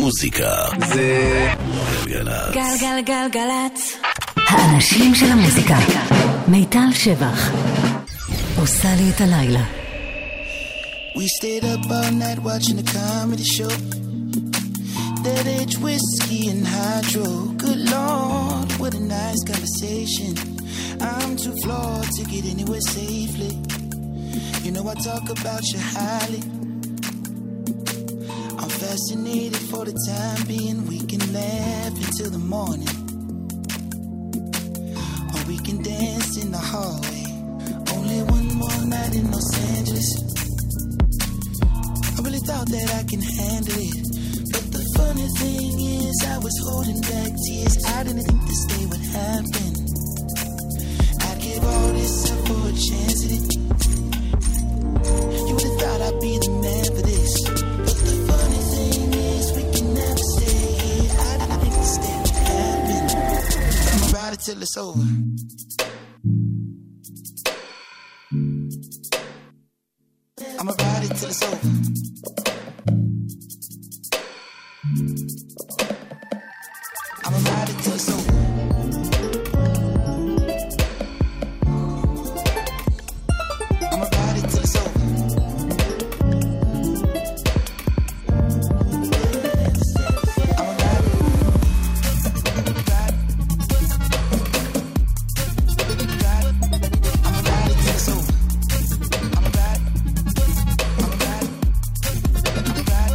המוזיקה זה גלגלצ. גלגלגלגלצ. האנשים של המוזיקה. מיטל שבח עושה לי את הלילה. We stayed up all night watching a comedy show. That age whiskey and hydro. Good Lord, what a nice conversation. I'm too flawed to get anywhere safely. You know I talk about you highly. I'm fascinated for the time being. We can laugh until the morning, or we can dance in the hallway. Only one more night in Los Angeles. I really thought that I can handle it, but the funny thing is I was holding back tears. I didn't think this day would happen. I'd give all this up for a chance at it. You would've thought I'd be the man for this, but the funny thing is we can never stay here. I didn't think this day would happen. I'ma ride it till it's over. I'ma ride it till it's over. I'ma ride it till it's over. I'ma ride it till it's over. I'ma ride it. Ride. Ride. I'ma ride it till it's over. I'ma ride. I'ma ride. I'ma ride.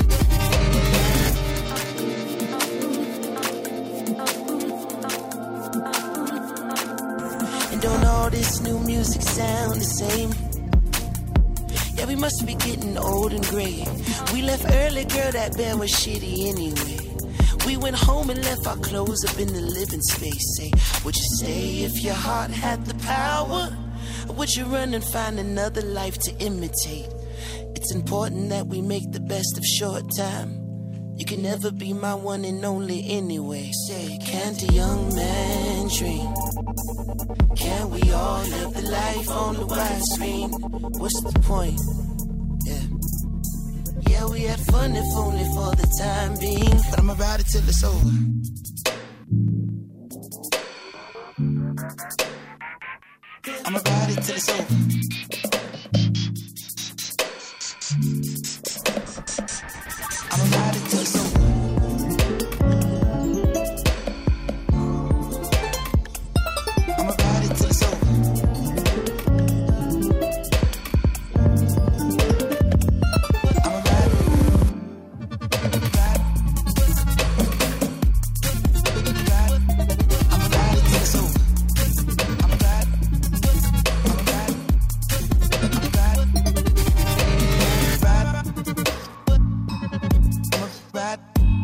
And don't all this new music sound the same? Yeah, we must be getting old and gray. We left early, girl, that bed was shitty anyway. We went home and left our clothes up in the living space. Say, would you stay if your heart had the power? Or would you run and find another life to imitate? It's important that we make the best of short time. You can never be my one and only anyway. Say, can't a young man dream? Can we all live the life on the widescreen? What's the point? Yeah, we had fun if only for the time being. But I'ma ride it till it's over. I'ma ride it till it's over. I'ma ride it till it's over. I'ma ride it till it's over. I'ma ride it. Ride. Ride. I'ma ride it till it's over. I'ma ride. I'ma ride. I'ma ride. Ride. I'ma ride.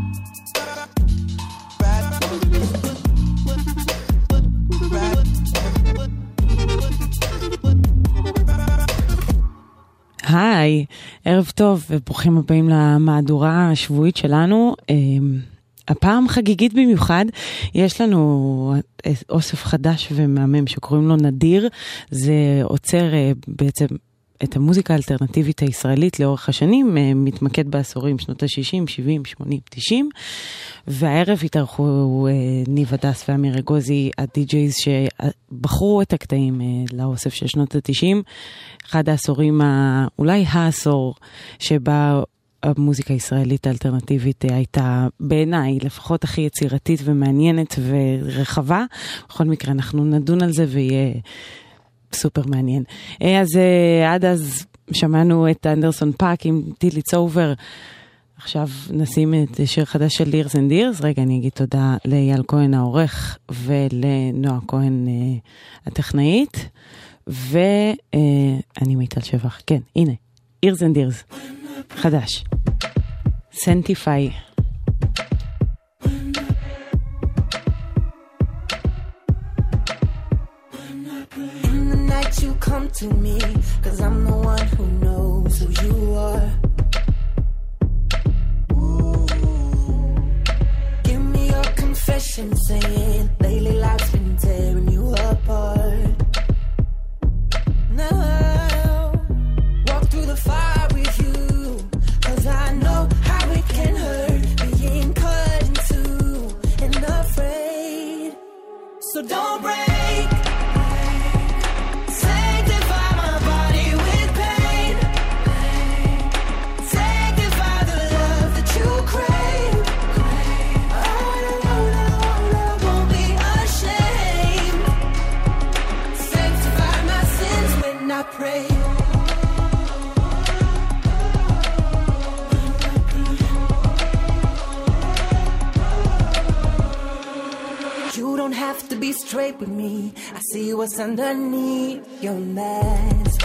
היי, ערב טוב וברוכים הבאים למהדורה השבועית שלנו. הפעם חגיגית במיוחד, יש לנו אוסף חדש ומהמם שקוראים לו נדיר. זה עוצר בעצם את המוזיקה האלטרנטיבית הישראלית לאורך השנים, מתמקד בעשורים שנות ה-60, 70, 80, 90, והערב התארחו ניב הדס ואמיר אגוזי, הדי-ג'ייז שבחרו את הקטעים לאוסף של שנות ה-90, אחד העשורים, אולי העשור שבה המוזיקה הישראלית האלטרנטיבית הייתה בעיניי לפחות הכי יצירתית ומעניינת ורחבה. בכל מקרה אנחנו נדון על זה ויהיה סופר מעניין. אז עד אז שמענו את אנדרסון פאק עם Till It's Over. עכשיו נשים את שיר חדש של Years and Years. רגע, אני אגיד תודה לאייל כהן העורך ולנועה כהן הטכנאית. ואני מיטל שבח. כן, הנה. Years and Years. חדש. סנטיפיי. You come to me, 'cause I'm the one who knows who you are. Ooh. Give me your confession, saying lately life's been tearing you apart. Now walk through the fire with you, 'cause I know how it can hurt. Be be straight with me. I see what's underneath your mask.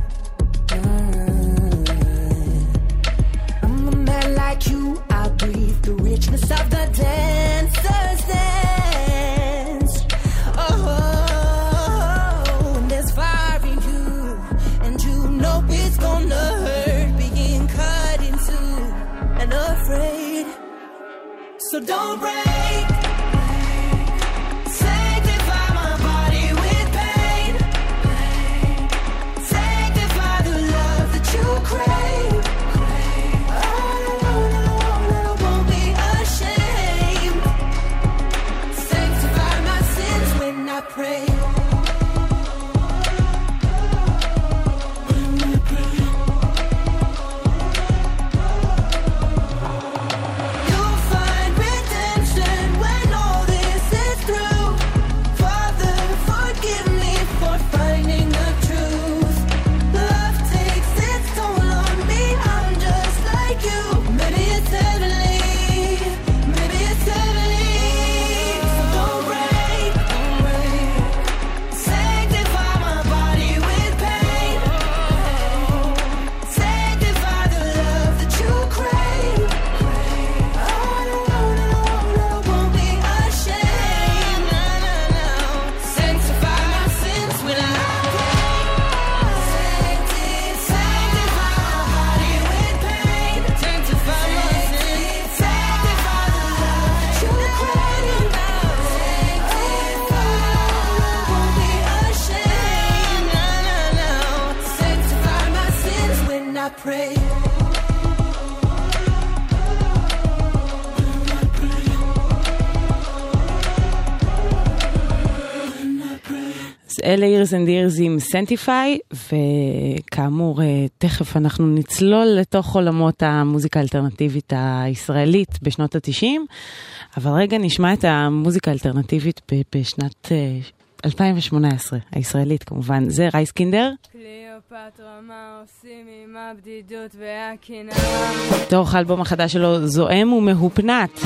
I'm a man like you, I breathe the richness of the dancer's dance. Oh, and there's fire in you, and you know it's gonna hurt being cut in two and afraid. So don't break. Sanctify my body with pain. Sanctify the love that you crave. Oh, I won't be ashamed. Sanctify my sins when I pray. Pray. אז אלה אירס אנד אירס עם סנטיפיי, וכאמור תכף אנחנו נצלול לתוך עולמות המוזיקה האלטרנטיבית הישראלית בשנות ה-90, אבל רגע נשמע את המוזיקה האלטרנטיבית בשנת 2018, הישראלית כמובן, זה רייסקינדר. קליאופטרה, מה עושים עם הבדידות והקנאה? תוך האלבום החדש שלו, זועם ומהופנת.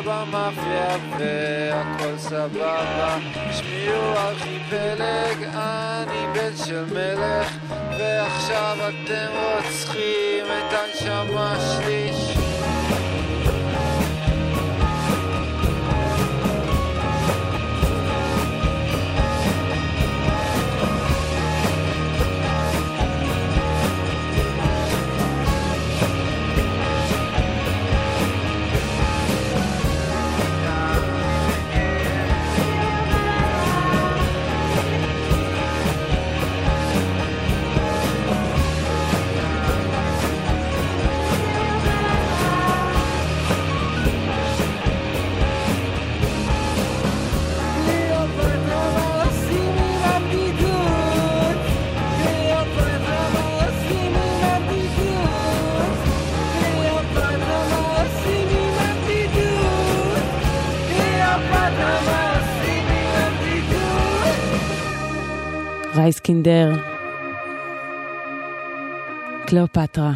במאפיה והכל סבבה. שמי הוא ארכיפלג, אני בן של מלך, ועכשיו אתם רוצחים את הנשמה שלי. רייסקינדר, קליאופטרה.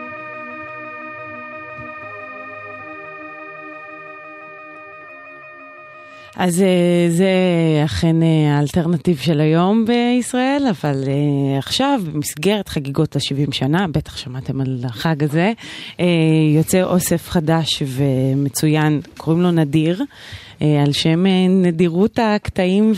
אז זה אכן האלטרנטיב של היום בישראל, אבל עכשיו במסגרת חגיגות ה-70 שנה, בטח שמעתם על החג הזה, יוצא אוסף חדש ומצוין, קוראים לו נדיר, על שם נדירות הקטעים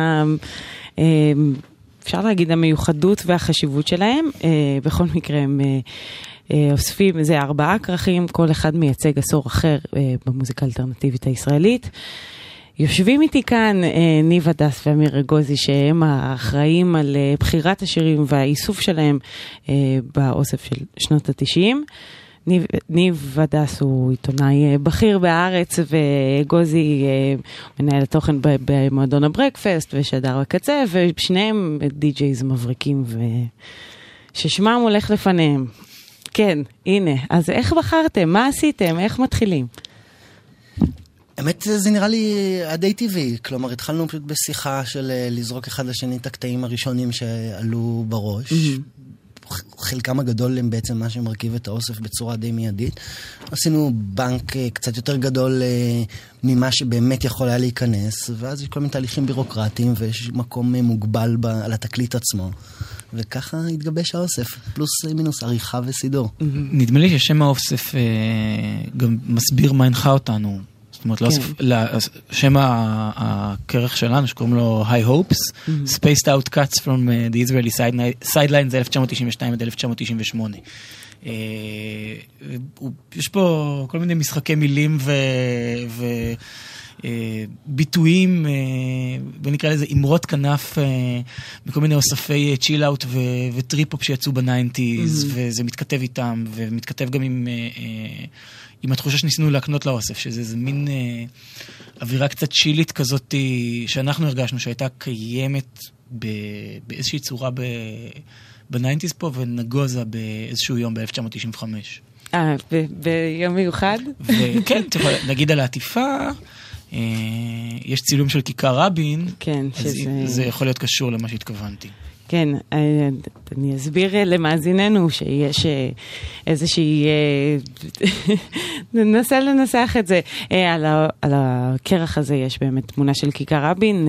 אפשר להגיד המיוחדות והחשיבות שלהם. בכל מקרה הם אוספים, זה 4 כרכים, כל אחד מייצג עשור אחר במוזיקה האלטרנטיבית הישראלית. יושבים איתי כאן ניב הדס ואמיר אגוזי, שהם האחראים על בחירת השירים והאיסוף שלהם באוסף של שנות ה-90. ניב הדס הוא עיתונאי בכיר בארץ, ואגוזי מנהל התוכן במועדון הברקפסט ושדר בקצה, ושניהם די-ג'ייז מבריקים ששמם הולך לפניהם. כן, הנה, אז איך בחרתם? מה עשיתם? איך מתחילים? האמת, זה נראה לי די טבעי. כלומר, התחלנו פשוט בשיחה של לזרוק אחד לשני את הקטעים הראשונים שעלו בראש. חלקם הגדול הם בעצם מה שמרכיב את האוסף בצורה די מיידית. עשינו בנק קצת יותר גדול ממה שבאמת יכול היה להיכנס, ואז יש כל מיני תהליכים בירוקרטיים, ויש מקום מוגבל על התקליט עצמו. וככה התגבש האוסף, פלוס מינוס עריכה וסידור. נדמה לי ששם האוסף גם מסביר מה הנחה אותנו. זאת אומרת, שם הכרך שלנו, שקוראים לו High Hopes, Spaced Out Cuts from the Israeli Sidelines, 1992 עד 1998. יש פה כל מיני משחקי מילים ביטויים, ונקרא לזה אמרות כנף, בכל מיני אוספי צ'יל-אוט וטריפ-אופ שיצאו ב-90s, וזה מתכתב איתם, ומתכתב גם עם התחושה שניסינו להקנות לאוסף, שזה מין אווירה קצת צ'ילית כזאת, שאנחנו הרגשנו שהייתה קיימת באיזושהי צורה ב-90s פה, ונגוזה באיזשהו יום ב-1995. ביום מיוחד? וכן, נגיד על העטיפה, יש צילום של כיכר רבין, אז זה יכול להיות קשור למה שהתכוונתי. כן, אני אסביר למאזיננו שיש איזושהי, ננסה לנסח את זה, על הכרך הזה יש באמת תמונה של כיכר רבין,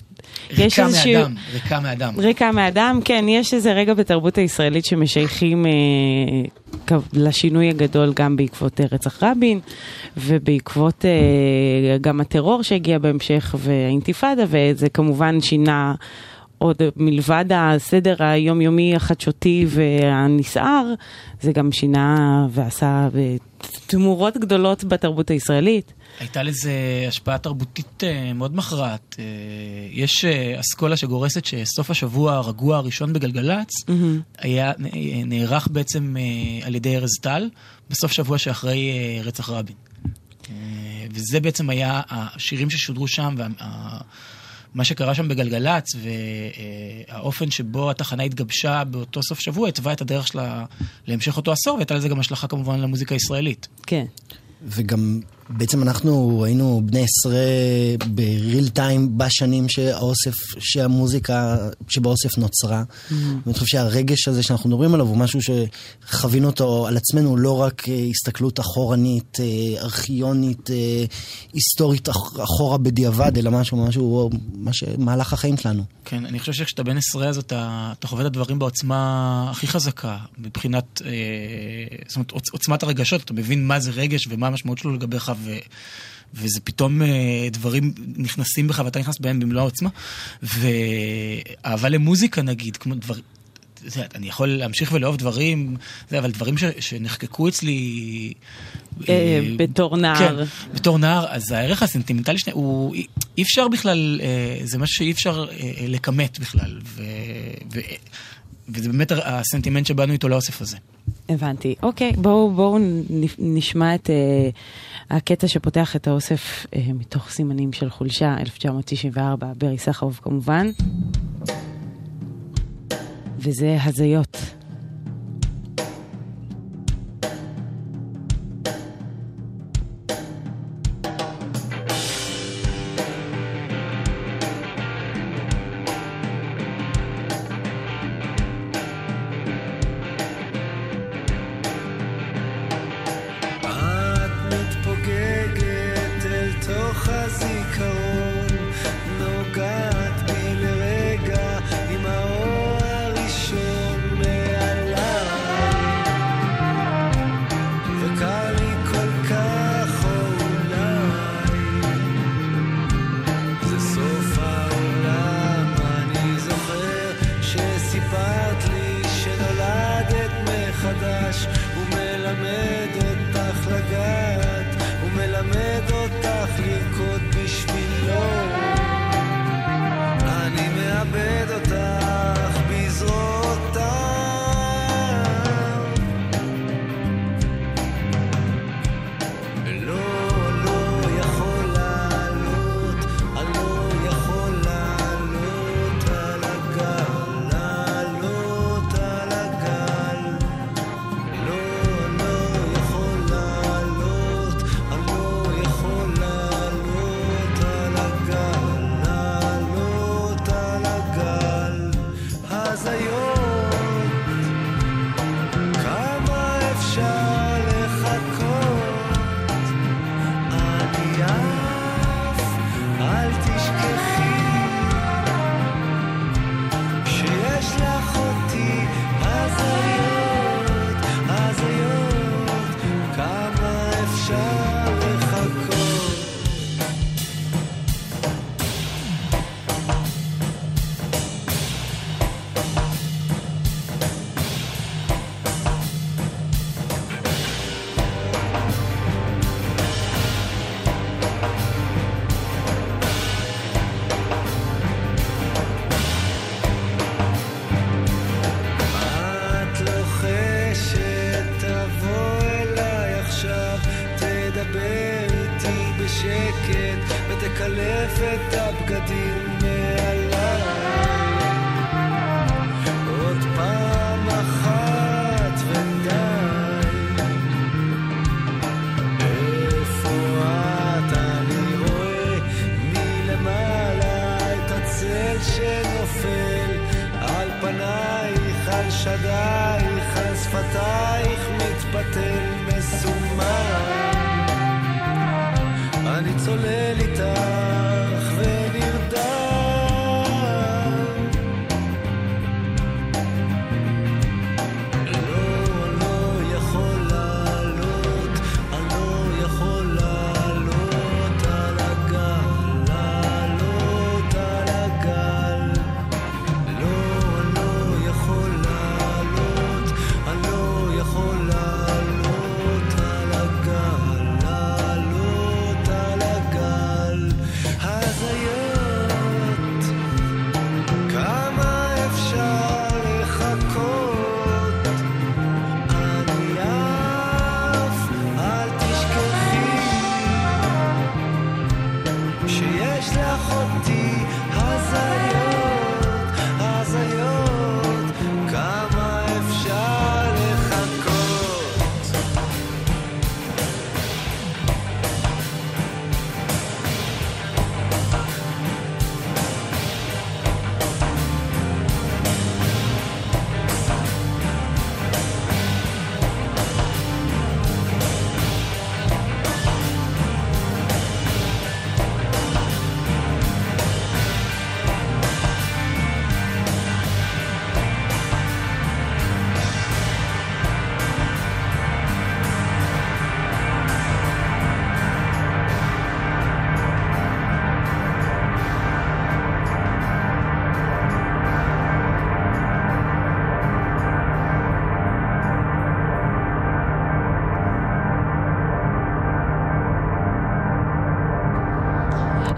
ריקה מאדם, כן, יש איזה רגע בתרבות הישראלית שמשייכים לשינוי הגדול גם בעקבות רצח רבין, ובעקבות גם הטרור שהגיע בהמשך והאינתיפאדה, וזה כמובן שינה עוד מלבד הסדר היומיומי החדשותי והנסער, זה גם שינה ועשה תמורות גדולות בתרבות הישראלית. הייתה לזה השפעה תרבותית מאוד מכרעת. יש אסכולה שגורסת שסוף השבוע הרגוע הראשון בגלגלץ היה נערך בעצם על ידי ארז טל בסוף שבוע שאחרי רצח רבין. וזה בעצם היה השירים ששודרו שם, מה שקרה שם בגלגלץ, והאופן שבו התחנה התגבשה באותו סוף שבוע, התווה את הדרך שלה להמשך אותו עשור, והייתה לזה גם השלכה כמובן למוזיקה הישראלית. כן. וגם בעצם אנחנו היינו בני 10 בריל טיים בשנים שהמוזיקה שבאוסף נוצרה. ואני חושב שהרגש הזה שאנחנו מדברים עליו הוא משהו שחווינו אותו על עצמנו, לא רק הסתכלות אחורנית, ארכיונית, היסטורית אחורה בדיעבד, אלא משהו מהלך החיים שלנו. כן, אני חושב שכשאתה בן 10 אז אתה חווה את הדברים בעוצמה הכי חזקה, מבחינת, זאת אומרת, עוצמת הרגשות, אתה מבין מה זה רגש ומה המשמעות שלו לגביך, וזה פתאום דברים נכנסים בך ואתה נכנס בהם במלוא העוצמה, ואהבה למוזיקה נגיד, כמו דברים, אני יכול להמשיך ולאהוב דברים, אבל דברים שנחקקו אצלי בתור נער. כן, בתור נער, אז הערך הסנטימנטלי אי אפשר בכלל, זה משהו שאי אפשר לקמת בכלל, וזה באמת הסנטימנט שבאנו איתו לאוסף הזה. הבנתי. אוקיי, בואו נשמע את הקטע שפותח את האוסף מתוך סימנים של חולשה, 1994, ברי סחרוף כמובן. וזה הזיות.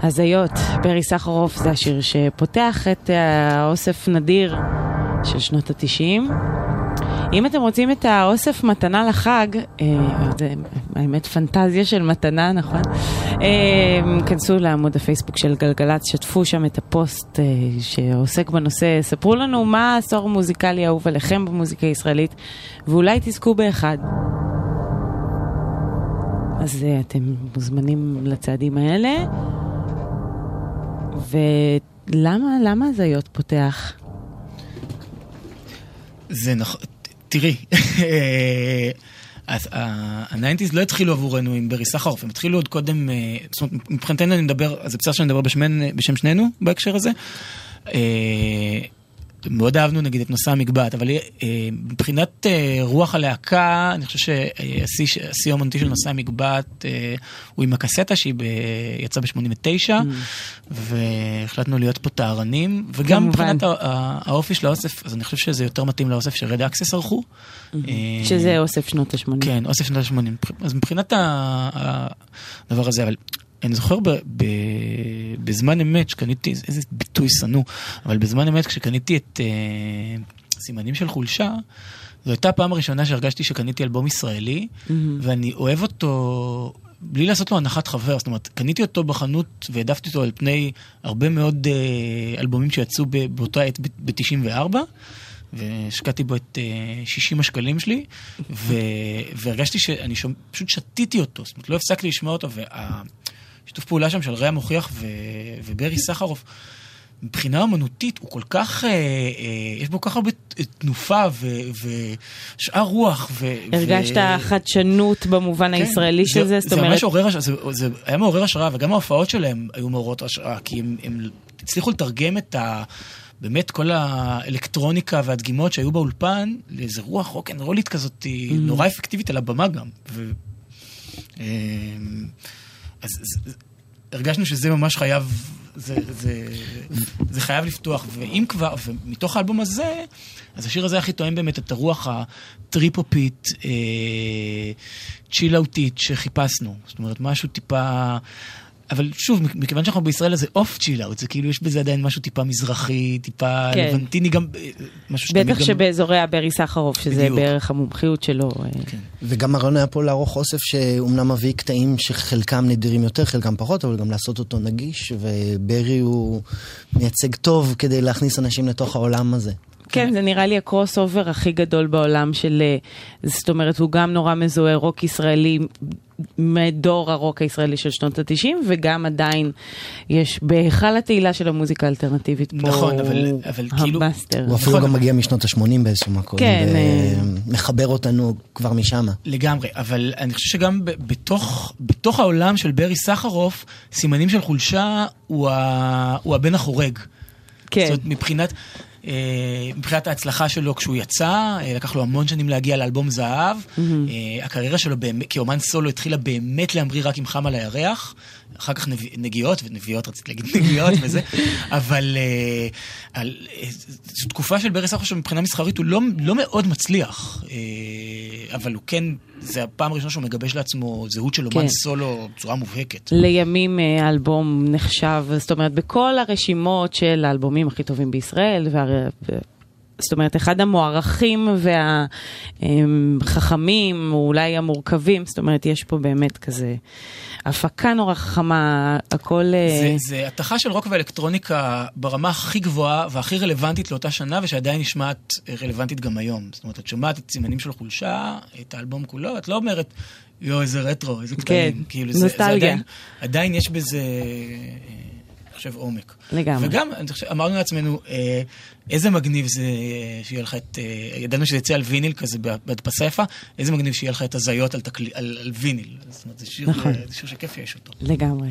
הזיות, ברי סחרוף זה השיר שפותח את האוסף נדיר של שנות ה-90. אם אתם רוצים את האוסף מתנה לחג, זה האמת פנטזיה של מתנה, נכון? כנסו לעמוד הפייסבוק של גלגלץ, שתפו שם את הפוסט שעוסק בנושא, ספרו לנו מה העשור מוזיקלי אהוב עליכם במוזיקה הישראלית, ואולי תזכו באחד. אז אתם מוזמנים לצעדים האלה. ולמה הזיות פותח? זה נכון, תראי, אז ה-90s לא התחילו עבורנו עם ברי סחרוף, הם התחילו עוד קודם, זאת אומרת, מבחינתנו אני מדבר, אז זה בסדר שאני מדבר בשם שנינו בהקשר הזה, מאוד אהבנו נגיד את נושא המגבעת, אבל מבחינת רוח הלהקה, אני חושב שהשיא האומנותי של נושא המגבעת הוא עם הקסטה שהיא יצאה ב-89, והחלטנו להיות פה טהרנים, וגם מבחינת האופי של האוסף, אז אני חושב שזה יותר מתאים לאוסף שרד אקסס ערכו. שזה אוסף שנות ה-80. כן, אוסף שנות ה-80. אז מבחינת הדבר הזה, אבל אני זוכר בזמן אמת שקניתי, איזה ביטוי סנו, אבל בזמן אמת כשקניתי את סימנים של חולשה, זו הייתה הפעם הראשונה שהרגשתי שקניתי אלבום ישראלי, ואני אוהב אותו בלי לעשות לו הנחת חבר, זאת אומרת, קניתי אותו בחנות והעדפתי אותו על פני הרבה מאוד אלבומים שיצאו באותה עת ב-94, והשקעתי בו את 60 השקלים שלי, והרגשתי שאני פשוט שתיתי אותו, זאת אומרת, לא הפסקתי לשמוע אותו, שיתוף פעולה שם של ריה מוכיח וברי סחרוף, מבחינה אמנותית הוא כל כך, יש בו כל כך הרבה תנופה ושאר רוח. הרגשת חדשנות במובן הישראלי של זה? זה ממש עורר השראה, זה היה מעורר השראה, וגם ההופעות שלהם היו מעוררות השראה, כי הם הצליחו לתרגם את באמת כל האלקטרוניקה והדגימות שהיו באולפן, לאיזה רוח רוק'נ'רולית כזאת, נורא אפקטיבית על הבמה גם. אז הרגשנו שזה ממש חייב, זה חייב לפתוח, ואם כבר, ומתוך האלבום הזה, אז השיר הזה הכי תואם באמת את הרוח הטריפופית, צ'ילאוטית שחיפשנו. זאת אומרת, משהו טיפה, אבל שוב, מכיוון שאנחנו בישראל הזה אוף צ'ילאוט, זה כאילו יש בזה עדיין משהו טיפה מזרחי, טיפה לבנטיני, גם משהו שתמיד גם... בטח שבאזורי הברי סחרוף, שזה בערך המומחיות שלו. וגם הרעיון היה פה לערוך אוסף שאומנם מביא קטעים שחלקם נדירים יותר, חלקם פחות, אבל גם לעשות אותו נגיש, וברי הוא מייצג טוב כדי להכניס אנשים לתוך העולם הזה. כן, זה נראה לי הקרוס אובר הכי גדול בעולם של, זאת אומרת, הוא גם נורא מזוהה רוק ישראלי, מדור הרוק הישראלי של שנות ה-90, וגם עדיין יש בהיכל התהילה של המוזיקה האלטרנטיבית פה, נכון, אבל כאילו... הוא אפילו גם מגיע משנות ה-80 באיזשהו מקום, ומחבר אותנו כבר משם. לגמרי, אבל אני חושב שגם בתוך העולם של ברי סחרוף, סימנים של חולשה הוא הבן החורג. כן. זאת מבחינת ההצלחה שלו כשהוא יצא, לקח לו המון שנים להגיע לאלבום זהב, הקריירה שלו כאומן סולו התחילה באמת להמריא רק עם חם על הירח, אחר כך נגיעות, ונביאות רציתי להגיד נגיעות וזה, אבל זו תקופה של ברי סחרוף שמבחינה מסחרית הוא לא מאוד מצליח, אבל הוא כן, זה הפעם הראשונה שהוא מגבש לעצמו זהות של אומן סולו בצורה מובהקת. לימים האלבום נחשב, זאת אומרת, בכל הרשימות של האלבומים הכי טובים בישראל, זאת אומרת, אחד המוערכים והחכמים, או אולי המורכבים, זאת אומרת, יש פה באמת כזה הפקה נורא חכמה, הכל... זה התחה של רוק ואלקטרוניקה ברמה הכי גבוהה והכי רלוונטית לאותה שנה, ושעדיין נשמעת רלוונטית גם היום. זאת אומרת, את שומעת את סימנים של חולשה, את האלבום כולו, את לא אומרת, איזה רטרו, איזה קטעים. כן, נוסטלגיה. עדיין יש בזה... חושב עומק. לגמרי. וגם, אמרנו לעצמנו, איזה מגניב זה שיהיה לך את, ידענו שזה יצא על ויניל כזה בהדפסה יפה, איזה מגניב שיהיה לך את הזיות על ויניל. זאת אומרת, זה שיר שכיף יש אותו. לגמרי.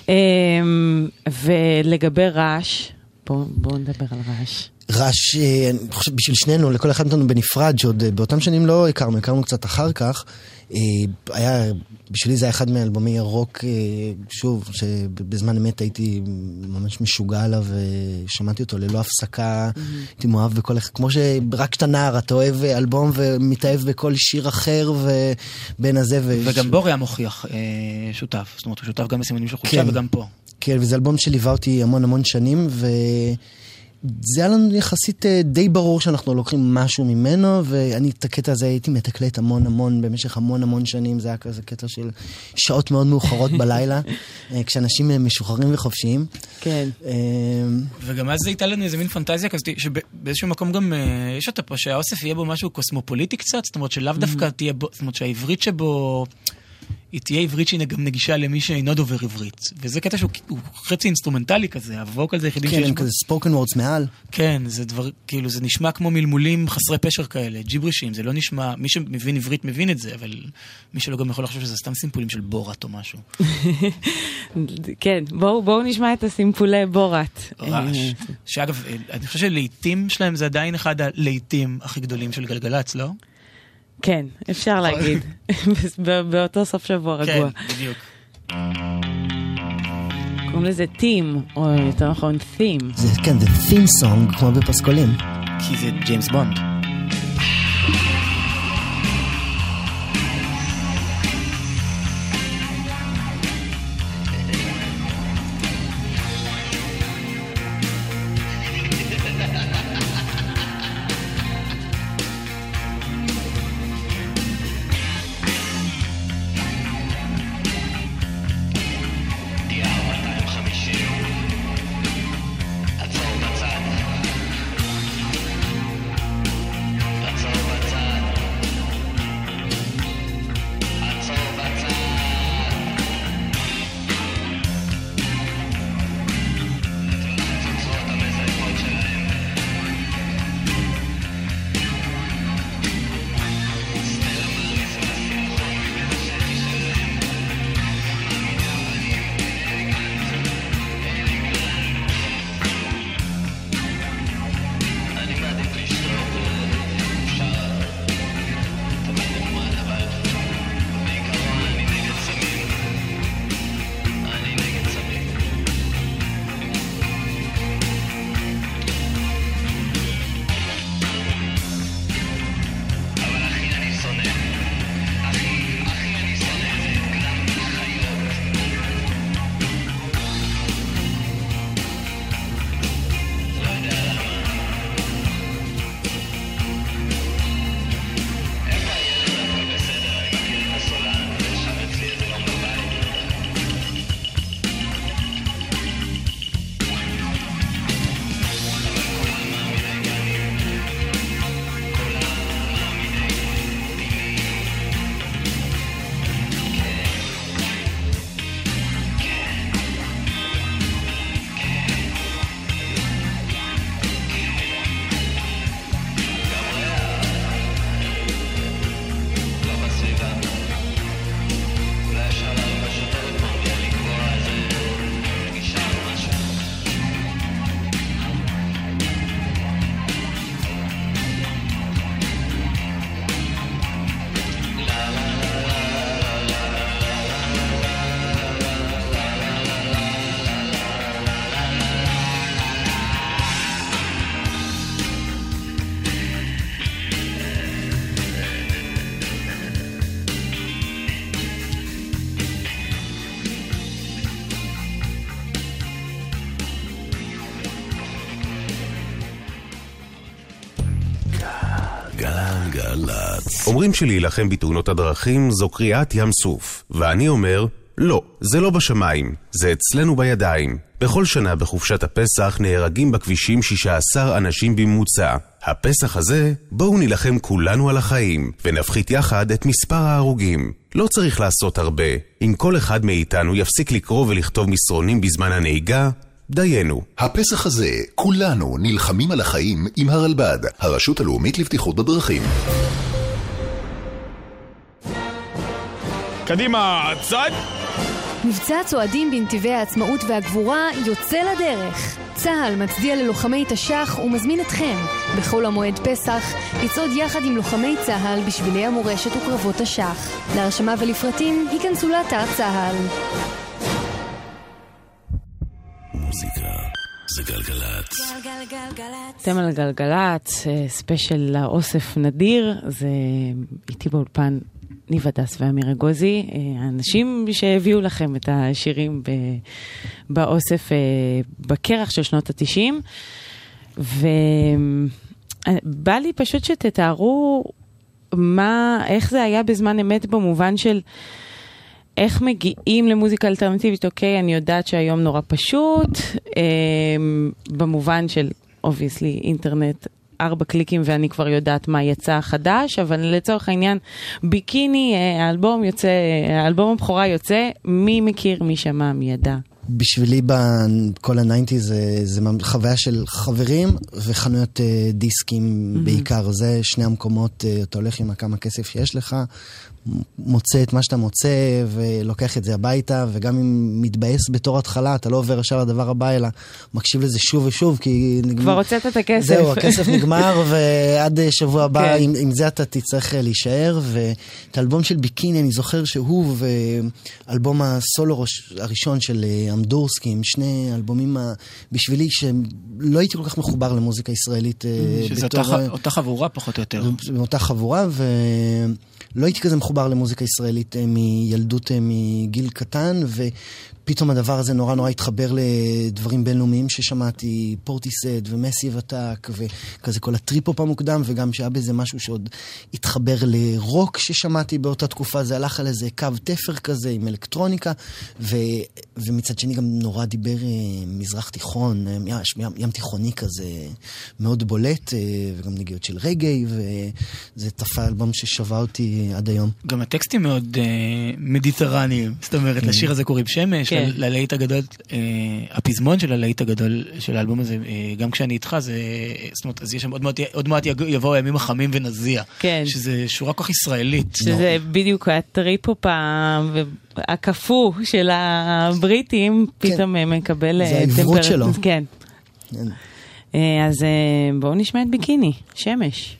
ולגבי רעש, בואו נדבר על רעש. רעש, אני חושב, בשביל שנינו, לכל אחד מאיתנו בנפרד, שעוד באותם שנים לא הכרנו קצת אחר כך, בשבילי זה היה אחד מהאלבומי הרוק, שוב, שבזמן אמת הייתי ממש משוגע עליו, ושמעתי אותו ללא הפסקה, הייתי מאוהב בכל, כמו שרק כשאתה נער, אתה אוהב אלבום ומתאהב בכל שיר אחר, ובין הזה וגם בורי המוכיח שותף, זאת אומרת, הוא שותף גם בסימנים של חולשה וגם פה. כן, וזה אלבום שליווה אותי המון שנים, וזה היה לנו יחסית די ברור שאנחנו לוקחים משהו ממנו, ואני את הקטע הזה הייתי מתקלט המון במשך המון שנים, זה היה כזה קטע של שעות מאוד מאוחרות בלילה, כשאנשים משוחררים וחופשיים. כן. וגם אז זה הייתה לנו איזה מין פנטזיה כזאת, שבאיזשהו מקום גם יש אותה פה, שהאוסף יהיה בו משהו קוסמופוליטי קצת, זאת אומרת שלאו דווקא תהיה בו, זאת אומרת שהעברית שבו היא תהיה עברית שהיא גם נגישה למי שאינו דובר עברית. וזה קטע שהוא חצי אינסטרומנטלי כזה, הווקל זה היחידים שיש בו. כן, כזה ספוקן וורדס מעל. כן, זה דבר, כאילו זה נשמע כמו מלמולים חסרי פשר כאלה, ג'יברישים, זה לא נשמע, מי שמבין עברית מבין את זה, אבל מי שלא גם יכול לחשוב שזה סתם סימפולים של בורת או משהו. כן, בואו נשמע את הסימפולי בורת. רעש. שאגב, אני חושב שלעיתים שלהם זה עדיין אחד הלעיתים הכי גדולים של גלגלץ, לא? כן, אפשר להגיד. באותו סוף שבוע רגוע. כן, בדיוק. קוראים לזה טים, או יותר נכון, תים. כן, זה תים סונג, כמו בפסקולים. כי זה ג'יימס בונד. אומרים שלהילחם בתאונות הדרכים זו קריאת ים סוף, ואני אומר, לא, זה לא בשמיים, זה אצלנו בידיים. בכל שנה בחופשת הפסח נהרגים בכבישים 16 אנשים בממוצע. הפסח הזה, בואו נילחם כולנו על החיים, ונפחית יחד את מספר ההרוגים. לא צריך לעשות הרבה. אם כל אחד מאיתנו יפסיק לקרוא ולכתוב מסרונים בזמן הנהיגה, דיינו. הפסח הזה, כולנו נלחמים על החיים עם הרלב"ד, הרשות הלאומית לבטיחות בדרכים. קדימה, צד! מבצע צועדים בנתיבי העצמאות והגבורה יוצא לדרך. צה"ל מצדיע ללוחמי תש"ח ומזמין אתכם בכל המועד פסח לצעוד יחד עם לוחמי צה"ל בשבילי המורשת וקרבות תש"ח. להרשמה ולפרטים היכנסו לאתר צה"ל. מוזיקה זה גלגלצ. אתם על גלגלצ, ספיישל לאוסף נדיר, זה איתי באולפן ניב הדס ואמיר אגוזי, האנשים שהביאו לכם את השירים באוסף בקרח של שנות ה-90, ובא לי פשוט שתתארו איך זה היה בזמן אמת במובן של איך מגיעים למוזיקה אלטרנטיבית. אוקיי, אני יודעת שהיום נורא פשוט, במובן של obviously אינטרנט, 4 קליקים ואני כבר יודעת מה יצא חדש, אבל לצורך העניין, ביקיני, האלבום הבכורה יוצא, מי מכיר, מי שמע, מי ידע. בשבילי בכל ה-90 זה חוויה של חברים וחנויות דיסקים בעיקר. זה שני המקומות, אתה הולך עם כמה כסף שיש לך, מוצא את מה שאתה מוצא ולוקח את זה הביתה, וגם אם מתבאס בתור התחלה, אתה לא עובר עכשיו לדבר הבא, אלא מקשיב לזה שוב ושוב, כי כבר הוצאת את הכסף. זהו, הכסף נגמר, ועד שבוע הבא, עם זה אתה תצטרך להישאר. ואת האלבום של ביקיני, אני זוכר שהוא ואלבום הסולו הראשון של אמדורסקי, עם שני אלבומים בשבילי, שלא הייתי כל כך מחובר למוזיקה ישראלית. שזה אותה חבורה פחות או יותר. אותה חבורה, לא הייתי כזה מחובר למוזיקה ישראלית מילדות, מגיל קטן, ופתאום הדבר הזה נורא נורא התחבר לדברים בינלאומיים ששמעתי, פורטיסט ומסי וטק, וכזה כל הטריפ-הופ המוקדם, וגם שהיה בזה משהו שעוד התחבר לרוק ששמעתי באותה תקופה, זה הלך על איזה קו תפר כזה עם אלקטרוניקה, ומצד שני גם נורא דיבר מזרח תיכון, ים תיכוני כזה מאוד בולט, וגם נגיעות של רגעי, וזה תפע אלבום ששווה אותי עד היום. גם הטקסטים מאוד מדיטרניים, זאת אומרת, לשיר הזה קוראים שמש, ללהיט הגדול, הפזמון של הלהיט הגדול של האלבום הזה, גם כשאני איתך, זאת אומרת, אז יש שם עוד מעט יבואו הימים החמים ונזיע, שזה שורה כך ישראלית. שזה בדיוק הטריפ-הופ הקפוא של הבריטים, פתאום מקבל... זה העברות שלו. כן. אז בואו נשמע את ביקיני, שמש.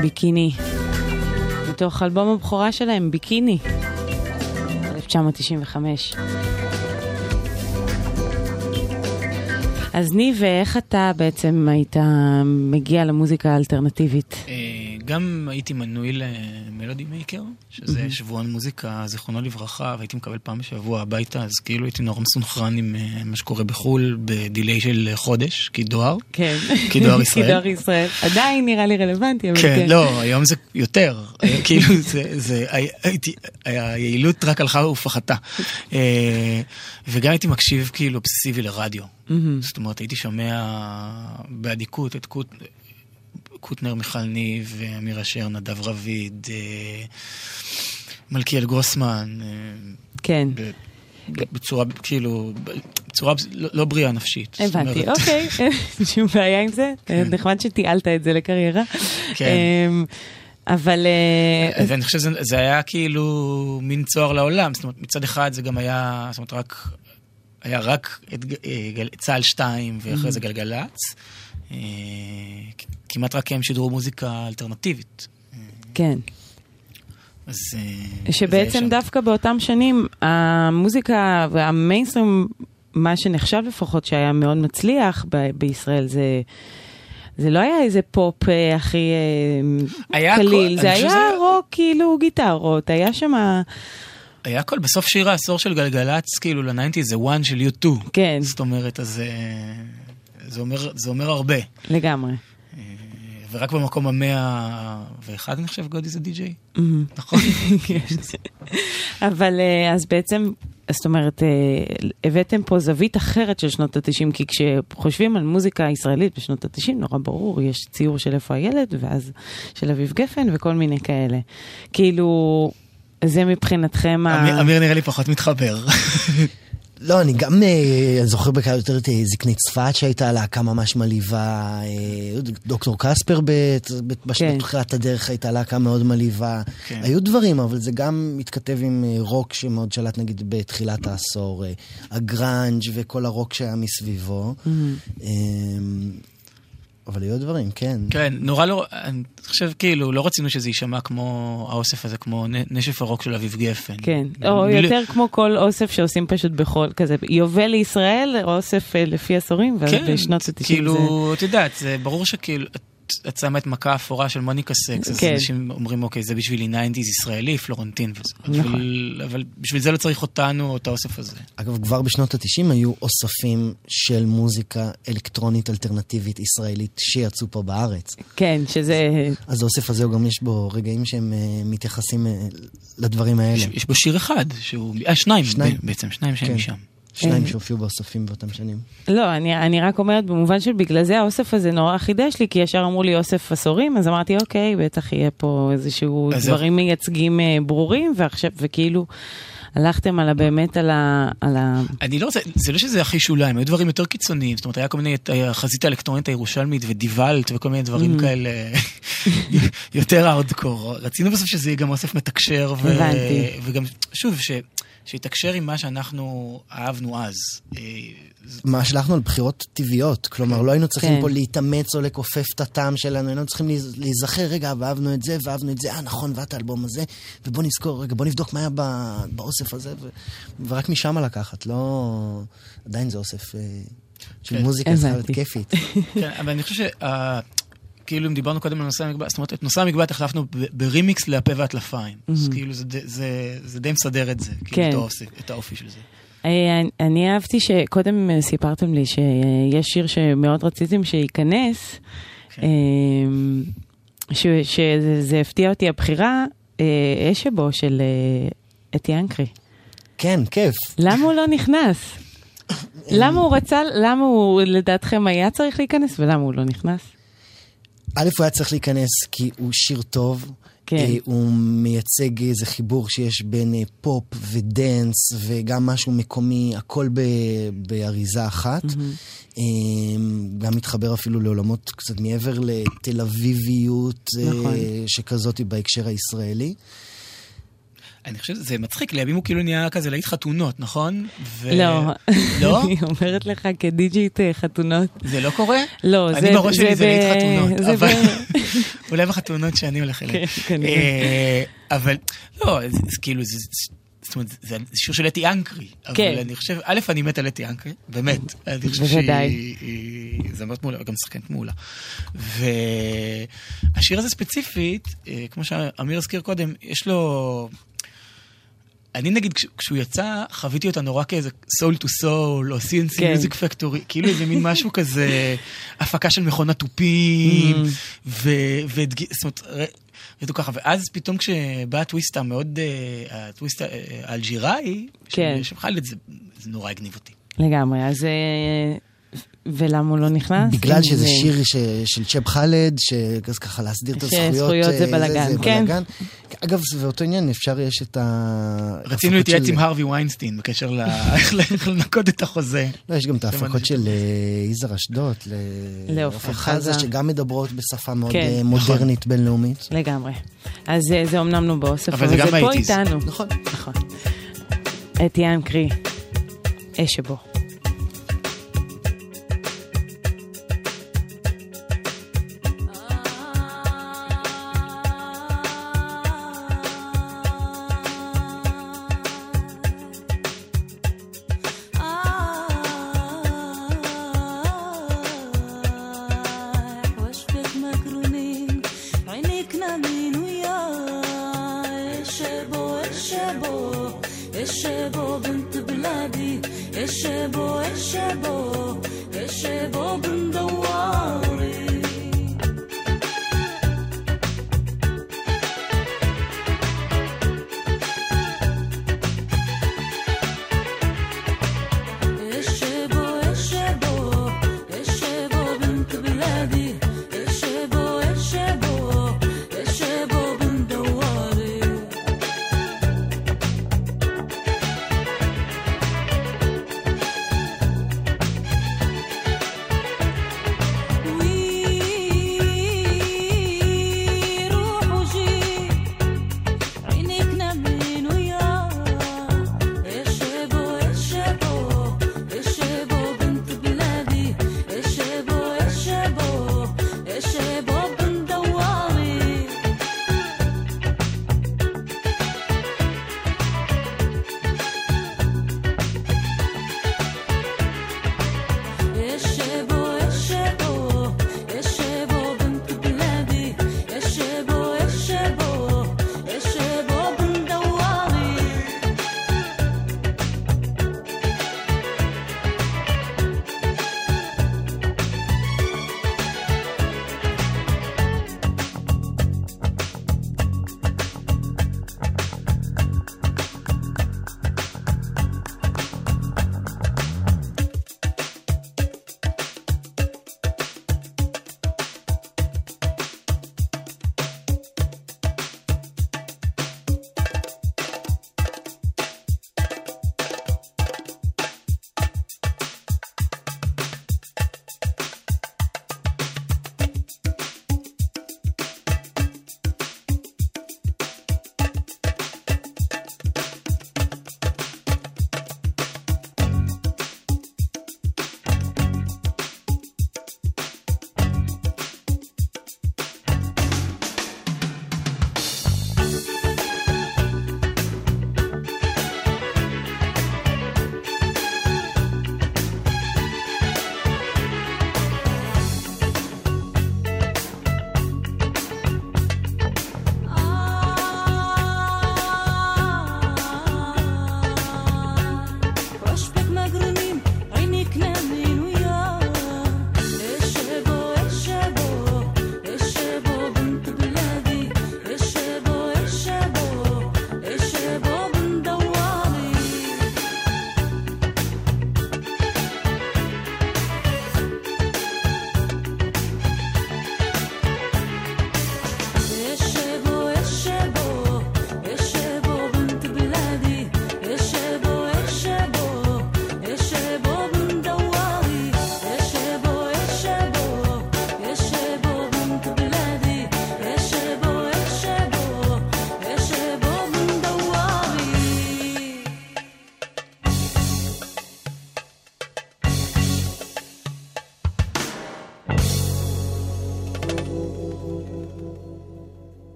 ביקיני. מתוך אלבום הבכורה שלהם, ביקיני, 1995. אז ניב, איך אתה בעצם היית מגיע למוזיקה האלטרנטיבית? גם הייתי מנוי למלודי מייקר, שזה שבועון מוזיקה, זיכרונו לברכה, והייתי מקבל פעם בשבוע הביתה, אז כאילו הייתי נורא מסונכרן עם מה שקורה בחול, בדילי של חודש, כדואר. כן. כדואר ישראל. כדואר ישראל. עדיין נראה לי רלוונטי, אבל כן. כן, לא, היום זה יותר. כאילו, היעילות רק הלכה ופחתה. וגם הייתי מקשיב כאילו אובססיבי לרדיו. זאת אומרת, הייתי שומע בעדיקות את קוטנר מיכל ניב, אמיר אשר, נדב רביד, מלכיאל גרוסמן. כן. בצורה, כאילו, בצורה לא בריאה נפשית. הבנתי, אוקיי. שום בעיה עם זה. נחמד שתיאלת את זה לקריירה. כן. אבל... ואני חושב שזה היה כאילו מין צוהר לעולם. זאת אומרת, מצד אחד זה גם היה, זאת אומרת, היה רק צהל 2 ואחרי זה גלגלץ. כמעט רק הם שידרו מוזיקה אלטרנטיבית. כן. אז... שבעצם דווקא באותם שנים, המוזיקה והמיינסטרים, מה שנחשב לפחות שהיה מאוד מצליח בישראל, זה לא היה איזה פופ הכי קליל, זה היה רוק כאילו גיטרות, היה שם... היה הכל, בסוף שיר העשור של גלגלץ, כאילו ל-90 זה one של U2. כן. זאת אומרת, אז זה אומר הרבה. לגמרי. ורק במקום 101, אני חושב, גודי זה די-ג'יי. נכון? אבל אז בעצם, זאת אומרת, הבאתם פה זווית אחרת של שנות ה-90, כי כשחושבים על מוזיקה ישראלית בשנות ה-90, נורא ברור, יש ציור של איפה הילד, ואז של אביב גפן וכל מיני כאלה. כאילו... זה מבחינתכם... אמיר נראה לי פחות מתחבר. לא, אני גם זוכר בקעה יותר את זקנית צפת שהייתה להקה ממש מליבה, דוקטור קספר בתחילת הדרך הייתה להקה מאוד מליבה. היו דברים, אבל זה גם מתכתב עם רוק שמאוד שלט נגיד בתחילת העשור, הגרנג' וכל הרוק שהיה מסביבו. אבל היו דברים, כן. כן, נורא לא, אני חושב כאילו, לא רצינו שזה יישמע כמו האוסף הזה, כמו נשף הרוק של אביב גפן. כן, או יותר כמו כל אוסף שעושים פשוט בכל, כזה, יובל לישראל, אוסף לפי עשורים, ובשנות ה-90 זה... כאילו, את יודעת, זה ברור שכאילו, את שמה את מכה אפורה של מוניקה סקס, אז אנשים אומרים, אוקיי, זה בשבילי 90s ישראלי, פלורנטין וזה. אבל בשביל זה לא צריך אותנו או את האוסף הזה. אגב, כבר בשנות ה-90 היו אוספים של מוזיקה אלקטרונית אלטרנטיבית ישראלית שיצאו פה בארץ. כן, שזה... אז האוסף הזה גם יש בו רגעים שהם מתייחסים לדברים האלה. יש בו שיר אחד, שניים בעצם, שניים שהם משם. שניים שהופיעו באוספים באותם שנים. לא, אני רק אומרת במובן של בגלל זה האוסף הזה נורא חידש לי, כי ישר אמרו לי אוסף עשורים, אז אמרתי אוקיי, בטח יהיה פה איזשהו דברים מייצגים ברורים, ועכשיו, וכאילו הלכתם על באמת על ה... אני לא רוצה, זה לא שזה הכי שוליים, היו דברים יותר קיצוניים, זאת אומרת, היה כל מיני, החזית האלקטרונית הירושלמית ודיוולט וכל מיני דברים כאלה יותר הארדקור. רצינו בסוף שזה יהיה גם אוסף מתקשר, וגם, שוב, שיתקשר עם מה שאנחנו אהבנו אז. מה שלחנו על בחירות טבעיות, כלומר, לא היינו צריכים פה להתאמץ או לקופף את הטעם שלנו, היינו צריכים להיזכר, רגע, ואהבנו את זה, נכון, ואת האלבום הזה, ובוא נזכור, רגע, בוא נבדוק מה היה באוסף הזה, ורק משם לקחת, לא... עדיין זה אוסף של מוזיקה, צריכה להיות כיפית. כן, אבל אני חושב כאילו אם דיברנו קודם על נושא המגבעת, זאת אומרת, את נושא המגבעת החלפנו ברימיקס להפה והטלפיים. אז כאילו זה די מסדר את זה, כאילו את האופי של זה. אני אהבתי שקודם סיפרתם לי שיש שיר שמאוד רציתם שייכנס, שזה הפתיע אותי הבחירה, אשבו של אתי אנקרי. כן, כיף. למה הוא לא נכנס? למה הוא רצה, למה הוא לדעתכם היה צריך להיכנס ולמה הוא לא נכנס? א', הוא היה צריך להיכנס כי הוא שיר טוב, הוא מייצג איזה חיבור שיש בין פופ ודנס וגם משהו מקומי, הכל באריזה אחת. גם מתחבר אפילו לעולמות קצת מעבר לתל אביביות שכזאת בהקשר הישראלי. אני חושב שזה מצחיק, לימים הוא כאילו נהיה כזה להיט חתונות, נכון? לא. לא? אני אומרת לך כדיג'ית חתונות. זה לא קורה? לא, זה... אני בראש שלי זה להיט חתונות, אבל... אולי בחתונות שאני הולך אליהן. כן. אבל, לא, זה כאילו, זאת אומרת, זה שיר של אתי אנקרי. אבל אני חושב, א', אני מת על אתי אנקרי, באמת. אני חושב שהיא זמרת מעולה, גם שחקנית מעולה. והשיר הזה ספציפית, כמו שאמיר הזכיר קודם, יש לו... אני נגיד, כשהוא יצא, חוויתי אותה נורא כאיזה soul to soul, או CNC Music Factory, כאילו איזה מין משהו כזה, הפקה של מכונת תופים, זאת אומרת, ואז פתאום כשבא הטוויסט המאוד, הטוויסט האלג'יראי, שבחל את זה, זה נורא הגניב אותי. לגמרי, אז... ולמה הוא לא נכנס? בגלל שזה שיר של צ'אב חאלד, שככה להסדיר את הזכויות. שזכויות זה בלגן, כן. אגב, זה באותו עניין, אפשר יש את ה... רצינו להתייעץ עם הרווי ויינסטין, בקשר איך לנקוד את החוזה. לא, יש גם את ההפקות של יזהר אשדוד, לאופן חזה, שגם מדברות בשפה מאוד מודרנית בינלאומית. לגמרי. אז זה אומנם לא באוסף, אבל זה גם פה הייטיז. איתנו. נכון. אתי אנקרי, אש שבו. شبو بنت بلادي الشبو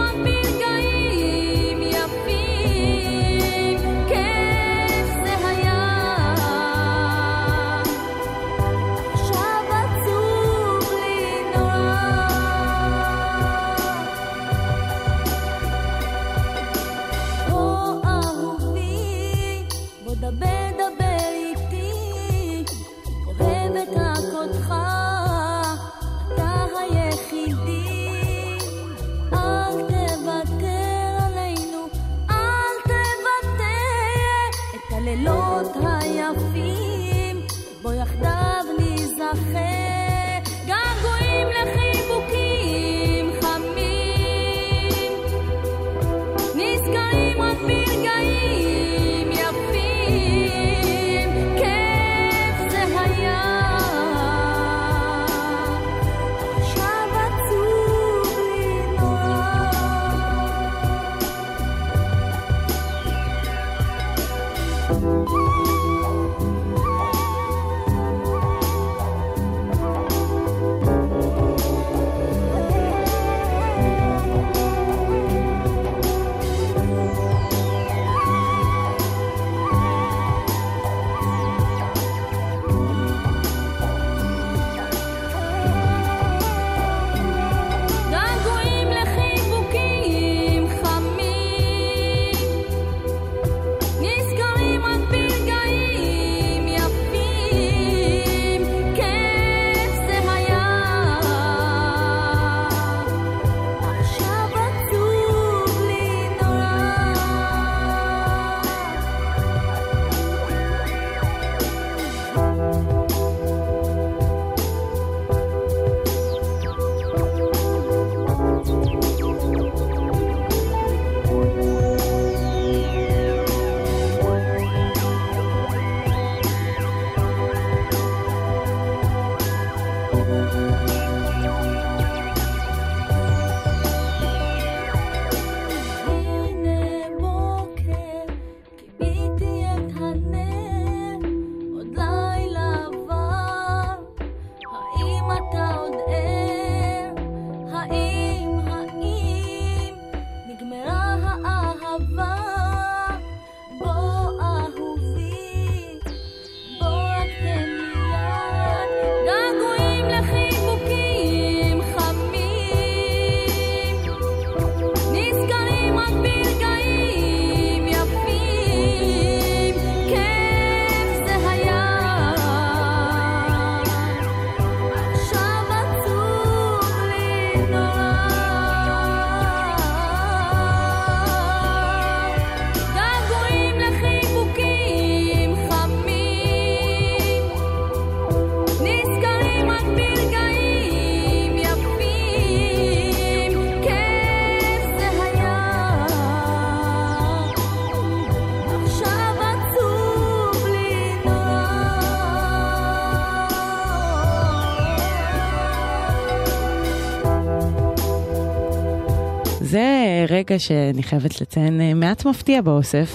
זה רגע שאני חייבת לציין מעט מפתיע באוסף.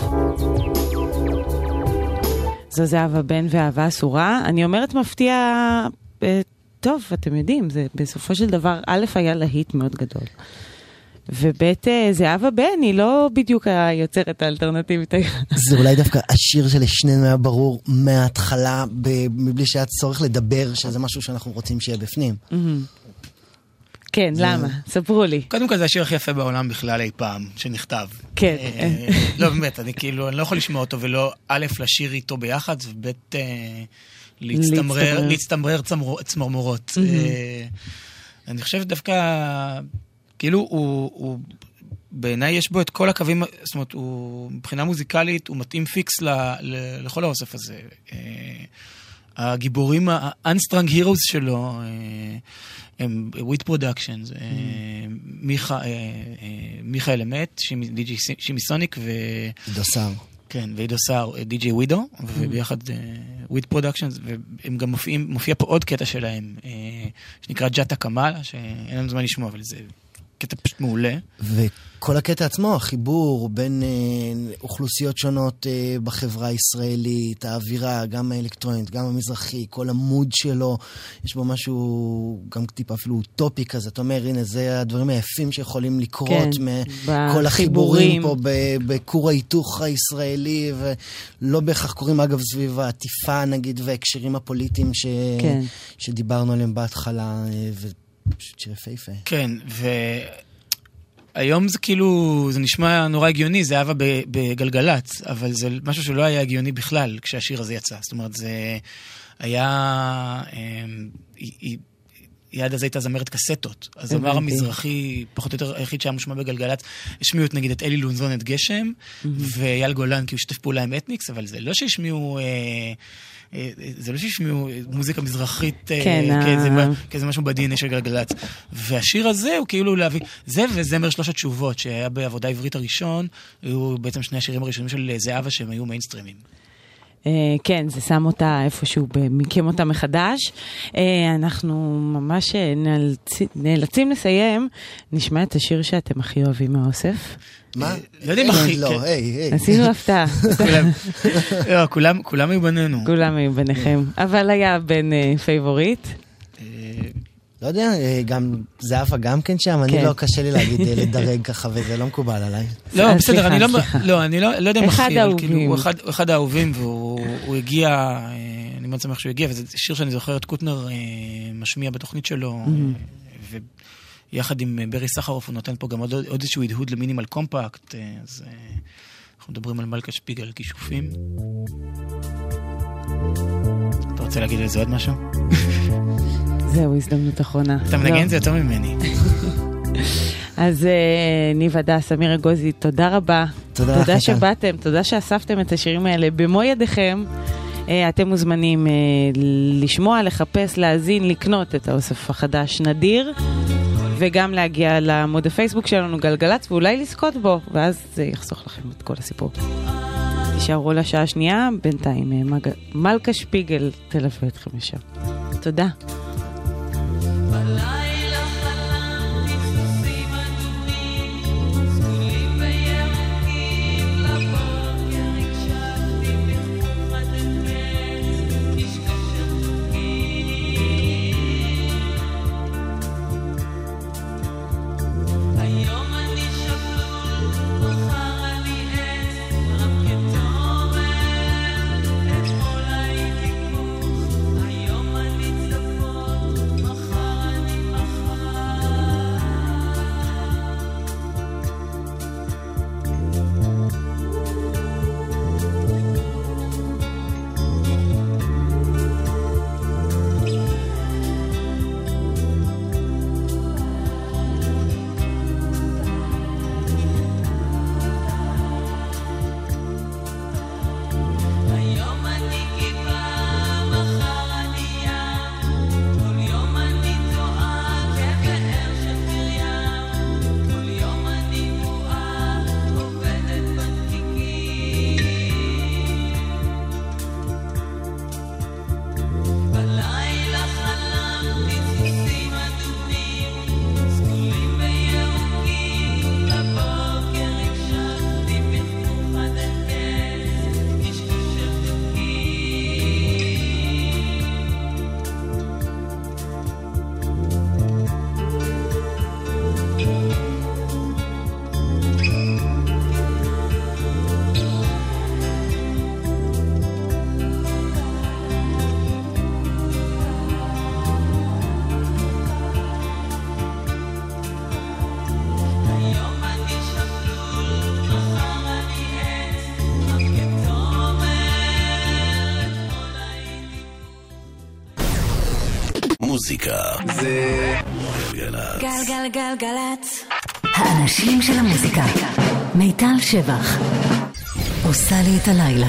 זו זהבה בן ואהבה אסורה. אני אומרת מפתיע, טוב, אתם יודעים, זה בסופו של דבר, א' היה להיט מאוד גדול. ובית זהבה בן היא לא בדיוק היוצרת האלטרנטיבית. זה אולי דווקא השיר שלשנינו היה ברור מההתחלה, מבלי שהיה צורך לדבר, שזה משהו שאנחנו רוצים שיהיה בפנים. כן, למה? ספרו לי. קודם כל זה השיר הכי יפה בעולם בכלל אי פעם, שנכתב. כן. לא, באמת, אני לא יכול לשמוע אותו, ולא א' לשיר איתו ביחד, וב' להצטמרר צמרמורות. אני חושב דווקא, כאילו הוא בעיניי יש בו את כל הקווים, זאת אומרת, מבחינה מוזיקלית, הוא מתאים פיקס לכל האוסף הזה. הגיבורים, ה-unstrung heroes שלו, הם וויט פרודקשנס, מיכאל אמת, שימי סוניק עידו סער. כן, ועידו סער, די.ג'יי ווידו, וביחד וויט פרודקשנס, והם גם מופיע פה עוד קטע שלהם, שנקרא ג'אטה קמאלה, שאין לנו זמן לשמוע, אבל זה קטע פשוט מעולה. וכל הקטע עצמו, החיבור בין אוכלוסיות שונות בחברה הישראלית, האווירה, גם האלקטרונית, גם המזרחי, כל המוד שלו, יש בו משהו גם טיפה אפילו אוטופי כזה. אתה אומר, הנה, זה הדברים היפים שיכולים לקרות מכל החיבורים פה בכור ההיתוך הישראלי, ולא בהכרח קוראים אגב סביב העטיפה נגיד, והקשרים הפוליטיים שדיברנו עליהם בהתחלה, ופשוט שיר יפהפה. כן, היום זה כאילו, זה נשמע נורא הגיוני, זה אהבה בגלגלץ, אבל זה משהו שלא היה הגיוני בכלל כשהשיר הזה יצא. זאת אומרת, זה היה, יד הזה הייתה זמרת קסטות. אז אמר המזרחי, פחות או יותר היחיד שהיה מושמע בגלגלץ, השמיעו נגיד את אלי לונזון, את גשם, ואייל גולן, כי הוא שתף פעולה עם אתניקס, אבל זה לא שהשמיעו מוזיקה מזרחית כאיזה משהו בדי.אן.איי של גלגלץ. והשיר הזה הוא כאילו להביא, זה וזמר שלוש התשובות שהיה בעבודה העברית הראשון, היו בעצם שני השירים הראשונים של זהבה שהם היו מיינסטרימים. כן, זה שם אותה איפשהו, מקים אותה מחדש. אנחנו ממש נאלצים לסיים. נשמע את השיר שאתם הכי אוהבים מהאוסף. מה? לא יודעים הכי, לא, היי. עשינו הפתעה. כולם היו בינינו. כולם היו ביניכם. אבל היה בין פייבוריט. לא יודע, גם זהפה גם כן שם, אני לא קשה לי להגיד לדרג ככה, וזה לא מקובל עליי. לא, בסדר, אני לא יודע מה הכי, הוא אחד האהובים, והוא הגיע, אני מאוד שמח שהוא הגיע, וזה שיר שאני זוכר את קוטנר משמיע בתוכנית שלו, ויחד עם ברי סחרוף הוא נותן פה גם עוד איזשהו הדהוד למינימל קומפקט, אז אנחנו מדברים על מלכה שפיגל כישופים. אתה רוצה להגיד לזה עוד משהו? זהו, הזדמנות אחרונה. אתה מנגן זה יותר ממני. אז ניב הדס, אמיר אגוזי, תודה רבה. תודה שבאתם, תודה שאספתם את השירים האלה במו ידיכם. אתם מוזמנים לשמוע, לחפש, להזין, לקנות את האוסף החדש נדיר, וגם להגיע לעמוד הפייסבוק שלנו גלגלץ, ואולי לזכות בו, ואז זה יחסוך לכם את כל הסיפור. תישארו לשעה השנייה, בינתיים מלכה שפיגל תלווה אתכם לשם. תודה. מוזיקה זה גלגלצ. גלגלגלגלצ. האנשים של המוזיקה. מיטל שבח. עושה לי את הלילה.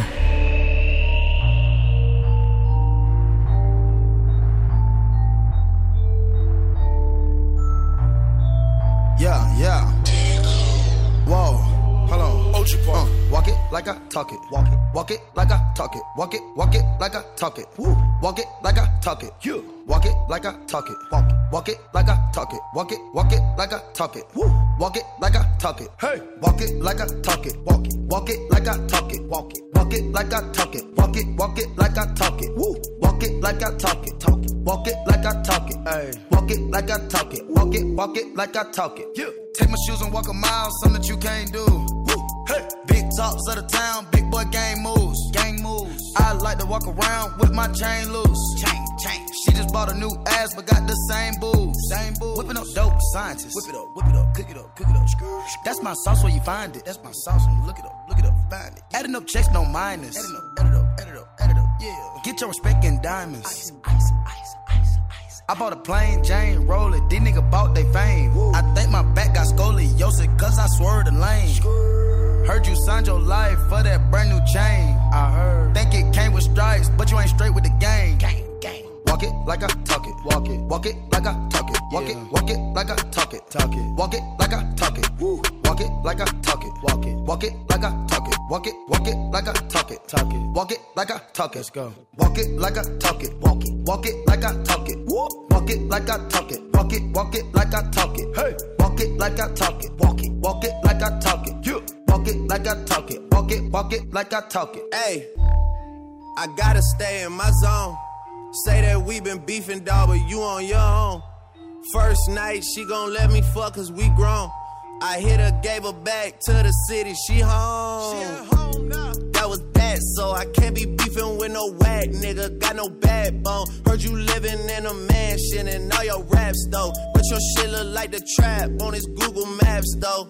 Yeah. Whoa, hold on. Walk it like I talk it. Walk it like I talk it. Walk it like I talk it. Walk it like I talk it. Walk it like I talk it. walk it like I talk it. Walk it like I talk it. Woo. Walk it like I talk it. Hey, walk it like I talk it. Walk it like I talk it. Walk it like I talk it. Walk it like I talk it. Woo. Walk it like I talk it. Walk it like I talk it. Hey, walk it like I talk it. Walk it like I talk it. Yeah. Take my shoes and walk a mile, something that you can't do. Woo. Hey, big tops of the town, big boy gang moves. I like to walk around with my chain loose. Chain. She just bought a new ass, but got the same booze. Whipping up dope scientists. Whip it up, cook it up. That's my sauce where you find it. That's my sauce when you look it up, find it. Adding up checks, no minus. Add it up, yeah. Get your respect in diamonds. Ice. I bought a plain Jane roller, these niggas bought they fame. Woo. I think my back got scoliosis, cause I swerved the lane. Heard you signed your life for that brand new chain. I heard. Think it came with stripes, but you ain't straight with the game. Gang. Walk it like I talk it. Walk it like I talk it. Walk it like I talk it. Walk it like I talk it. Woo. Walk it like I talk it. Walk it like I talk it. Walk it like I talk it. Walk it like I talk it. Let's go. Walk it like I talk it. Walk it like I talk it. Woo. Walk it like I talk it. Walk it like I talk it. Hey. Walk it like I talk it. Walk it like I talk it. Yeah. Walk it like I talk it. Walk it like I talk it. Hey, I gotta stay in my zone. Say that we been beefing, dawg, but you on your own. First night, she gon' let me fuck cause we grown. I hit her, gave her back to the city, she home. She at home now. That was that, so I can't be beefing with no whack nigga, got no backbone. Heard you living in a mansion and all your raps though. But your shit look like the trap on his Google Maps though.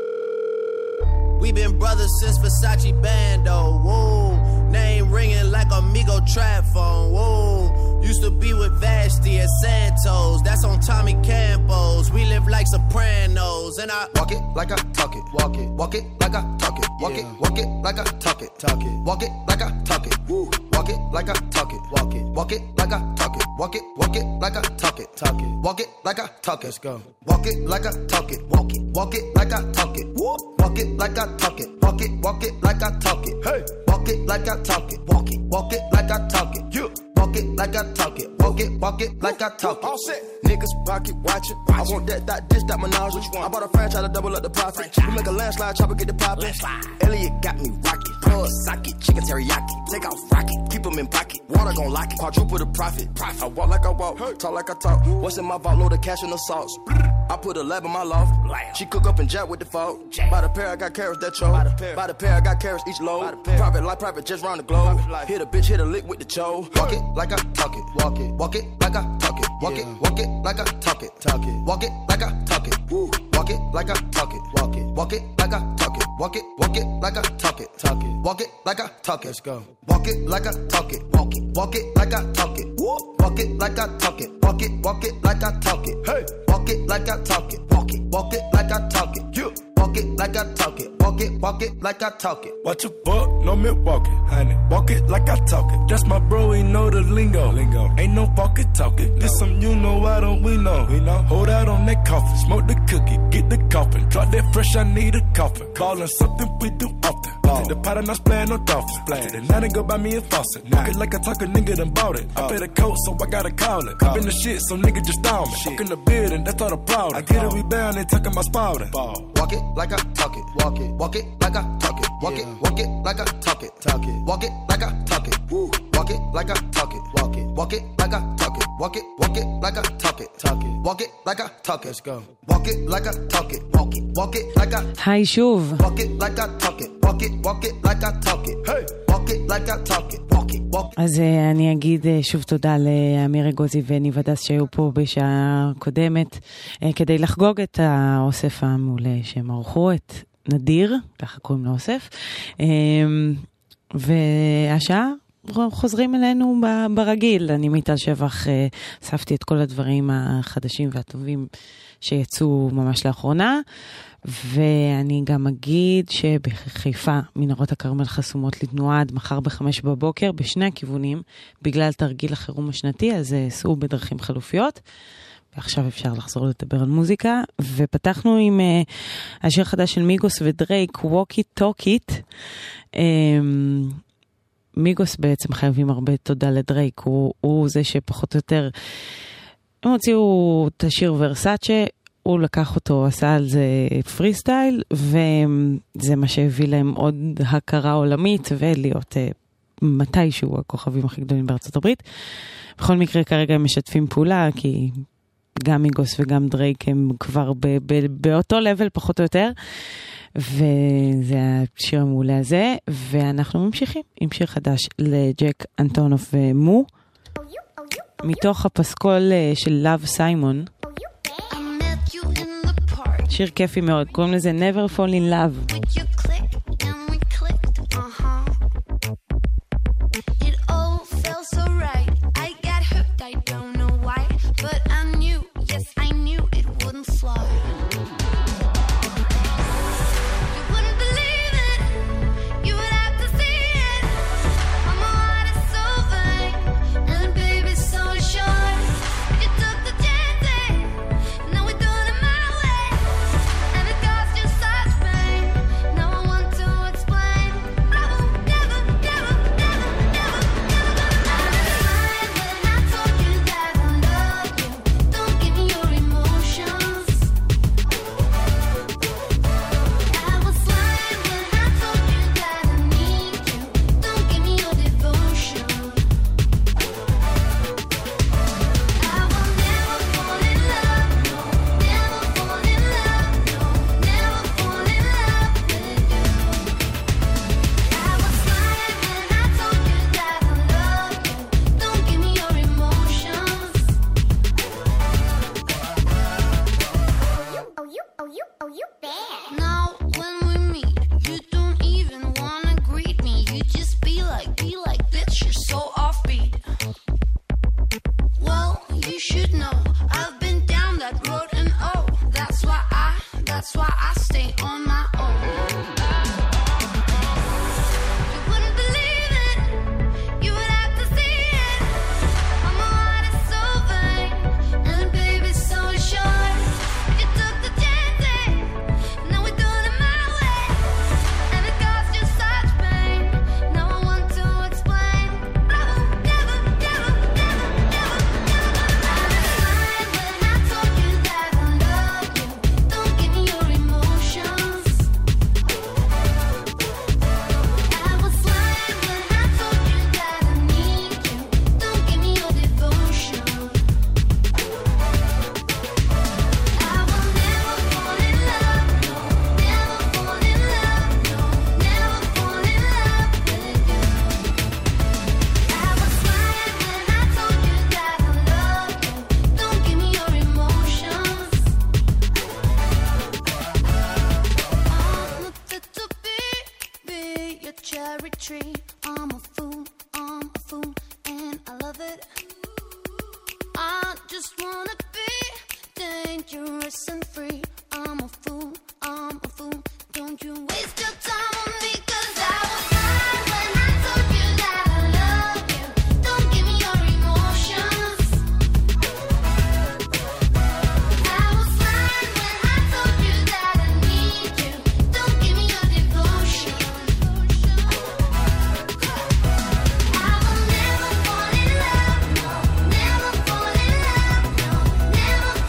We been brothers since Versace Bando, whoa. Name ringing like Amigo trap phone, whoa. Used to be with Vashti at Santos, that's on Tommy Campos. We live like Sopranos, and I walk it like I talk it. Walk it like I talk it. Walk it like I talk it. Walk it like I talk it. Woo. Walk it like I talk it. Walk it like I talk it. Walk it like I talk it. Walk it like I talk it. Let's go. Walk it like I talk it. Walk it like I talk it. Woo. Walk it like I talk it. Walk it like I talk it. Hey. Walk it like I talk it. Walk it like I talk it. Yeah. Walk it like I talk it. Walk it like I talk it. All set. Niggas pocket watching. I want that dish, that menage. Which one? I bought a franchise to double up the profit. We make a landslide, chopper get the poppin'. Elliot got me rocket. Plug socket, chicken teriyaki. Take off rocket, keep them in pocket. Water gon' lock it, quadruple the profit. I walk like I walk, talk like I talk. What's in my vault, load of cash and the sauce. I put a lab in my loft. She cook up and jack with the fault. By the pair, I got carrots that choke. By the pair, I got carrots each load. Private life, private just round the globe. Hit a bitch, hit a lick with the cho. Walk it like I talk it. Walk it like I talk it. Walk it like I talk it. Walk it like I talk it. Woo. Walk it like I talk it. Walk it like I talk it. Walk it like I talk it. Walk it like I talk it. Let's go. Walk it like I talk it. Walk it like I talk it. Woo. Walk it like I talk it. Walk it like I talk it. Hey. Walk it like I talk it. Walk it like I talk it. Yeah. Walk it like I talk it. Walk it like I talk it. Watch a buck, no Milwaukee, honey. Walk it like I talk it. That's my bro, he know the lingo. Ain't no walkie talking. This some you know, why don't we know? Hold out on that coffin, smoke the cookie, get the coffin. Drop that fresh, I need a coffin. Callin' something we do often. Take the pot and I'm playing no dolphins. The night and go buy me a faucet. Walk it like I talk, a nigga done bought it. I paid a coat, so I gotta call it. Cop in the shit, so nigga just down me. Walk in the building, that's all the proud. I get it, we bound and tucking my spouting. Walk it like I talk it. Walk it like I talk it. Walk it like I talk it. Walk it like I talk it. Woo. Walk it like I talk it. Walk it like I talk it. Walk it like I talk it. Walk it like I talk it. Let's go. Walk it like I talk it. Walk it like I. היי שוב. Walk it like I talk it. Walk it like I talk it. Hey. Walk it like I talk it. Walk it. אז אני אגיד שוב תודה לאמיר אגוזי וניב הדס שהיו פה בשעה קודמת כדי לחגוג את האוסף המעולה שהם ערכו, את נדיר, ככה קוראים לו אוסף, והשעה חוזרים אלינו ברגיל. אני מיטל שבח, אספתי את כל הדברים החדשים והטובים שיצאו ממש לאחרונה, ואני גם אגיד שבחיפה מנהרות הכרמל חסומות לתנועה עד מחר ב-5 בבוקר בשני הכיוונים, בגלל תרגיל החירום השנתי, אז סעו בדרכים חלופיות. ועכשיו אפשר לחזור לדבר על מוזיקה, ופתחנו עם השיר חדש של מיגוס ודרייק, ווקי טוקיט. מיגוס בעצם חייבים הרבה תודה לדרייק, הוא זה שפחות או יותר הם הוציאו את השיר ורסאצ'ה, הוא לקח אותו, עשה על זה פרי סטייל, וזה מה שהביא להם עוד הכרה עולמית, ולהיות מתישהו הכוכבים הכי גדולים בארצות הברית. בכל מקרה כרגע הם משתפים פעולה, כי גם מיגוס וגם דרייק הם כבר באותו לבל פחות או יותר, וזה השיר המעולה הזה, ואנחנו ממשיכים עם שיר חדש לג'ק אנטונוף ומו, מתוך הפסקול של לאב סיימון, שיר כיפי מאוד, קוראים לזה Never Fall in Love.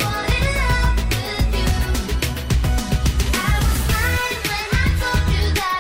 I was fine when I told you that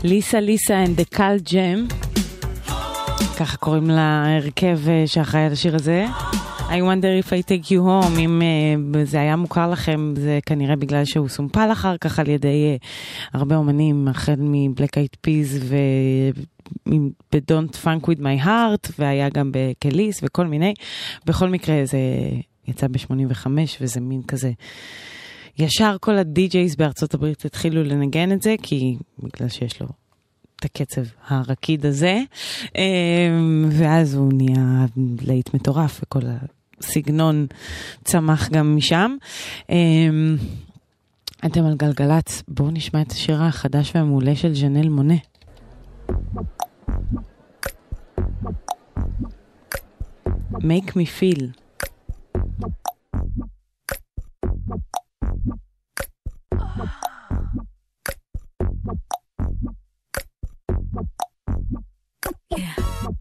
ליסה and the Cal Jam, ככה קוראים להרכב שאחראי על השיר הזה. I wonder if I take you home, אם זה היה מוכר לכם, זה כנראה בגלל שהוא סומפל אחר כך על ידי הרבה אומנים, החל מבלק אייד פיז ב-Don't Funk With My Heart, והיה גם בקליס וכל מיני. בכל מקרה זה יצא ב-85, וזה מין כזה, ישר כל הדי-ג'ייז בארצות הברית התחילו לנגן את זה, כי בגלל שיש לו את הקצב הרקיד הזה, ואז הוא נהיה להיט מטורף, וכל הסגנון צמח גם משם. אתם על גלגלץ, בואו נשמע את השיר החדש והמעולה של ז'נל מונה. Make me feel. Yeah.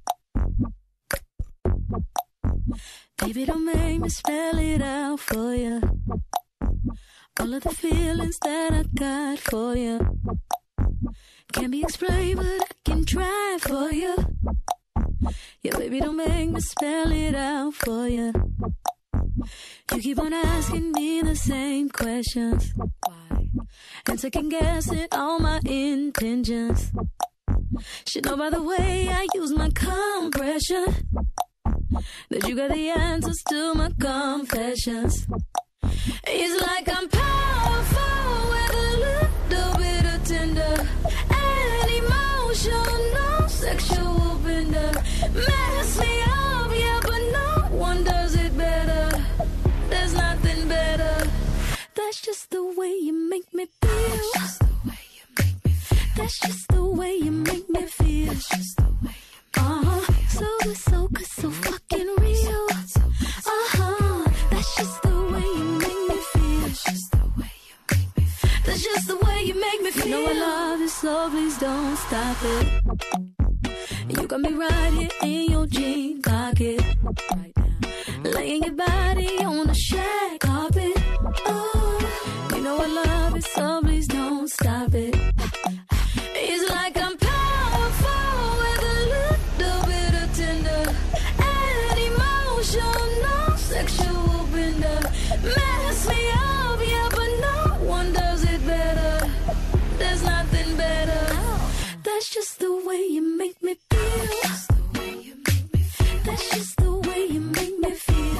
Baby, don't make me spell it out for you. All of the feelings that I got for you can't be explained, but I can try for you. Yeah, baby, don't make me spell it out for you. You keep on asking me the same questions. Why? And second guessing all my intentions. Should know by the way I use my compression that you got the answers to my confessions. It's like I'm powerful with a little bit of tender and emotional sexual bender. Mess me up, yeah, but no one does it better. There's nothing better. That's just the way you make me feel. That's just the way you make me feel. That's just the way you make me feel. So good, so good, so fucking real. That's just the way you make me feel. That's just the way you make me feel. That's just the way you make me feel. You know I love you, so please don't stop it. You got me right here in your jean pocket, right now, laying your body on the shag carpet. Oh, you know I love it, so please don't stop it. It's like I'm powerful with a little bit of tender and emotional sexual bender. Mess me up, yeah, but no one does it better. There's nothing better. That's just the way you make me feel. That's just the way you make me feel.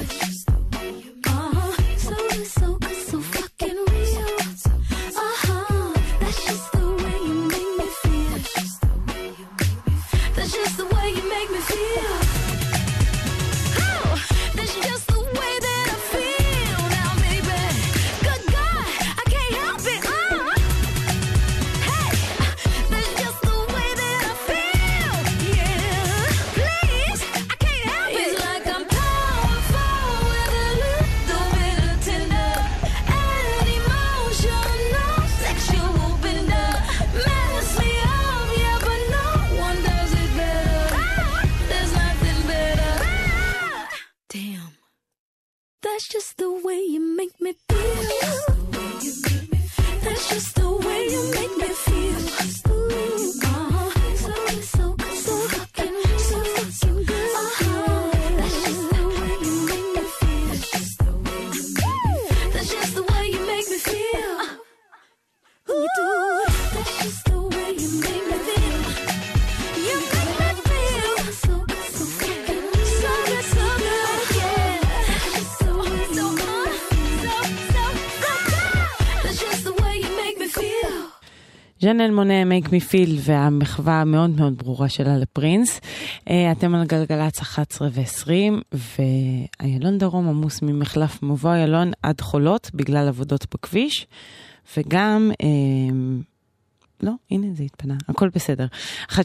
So good, so good, so fucking real. That's just the way you make me feel. That's just the way you make me feel. Oh, that's just the way that I feel now, baby. Good God, I can't help it. Hey, that's just the way that I feel. Yeah, please, I can't help it. It's like I'm powerful with a little bit of tender and emotional sexual bender. Mess me up, yeah, but no one does it better. There's nothing better. Damn, that's just the way you make me feel. That's just the way you make me feel. So good, so good, so fucking good. That's just the way you make me feel. That's just the way you make me feel. You do it. That's just the way you make me feel. You make me feel so good, so fucking good, so good, so good, yeah. That's just the way you make me feel. So good. That's just the way you make me feel. ז'נל מונה, Make Me Feel, והמחווה המאוד מאוד ברורה שלה לפרינס. אתם על גלגלץ 11 ו-20, ואיילון דרום עמוס ממחלף מבוא איילון עד חולות, בגלל עבודות בכביש, וגם, לא, הנה זה התפנה, הכל בסדר. 1-800-891-8,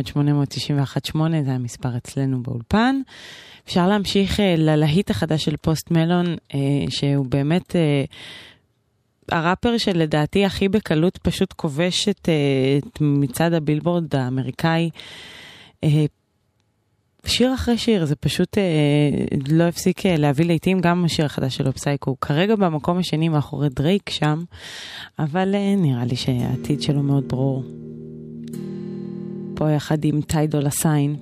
זה המספר אצלנו באולפן. אפשר להמשיך ללהיט החדש של פוסט מלון, שהוא באמת הראפר שלדעתי הכי בקלות פשוט כובש את מצד הבילבורד האמריקאי, שיר אחרי שיר, זה פשוט לא הפסיק להביא לעתים. גם השיר החדש שלו, פסייקו, כרגע במקום השני מאחורי דרייק שם, אבל נראה לי שהעתיד שלו מאוד ברור. פה יחד עם טי דולה סיין.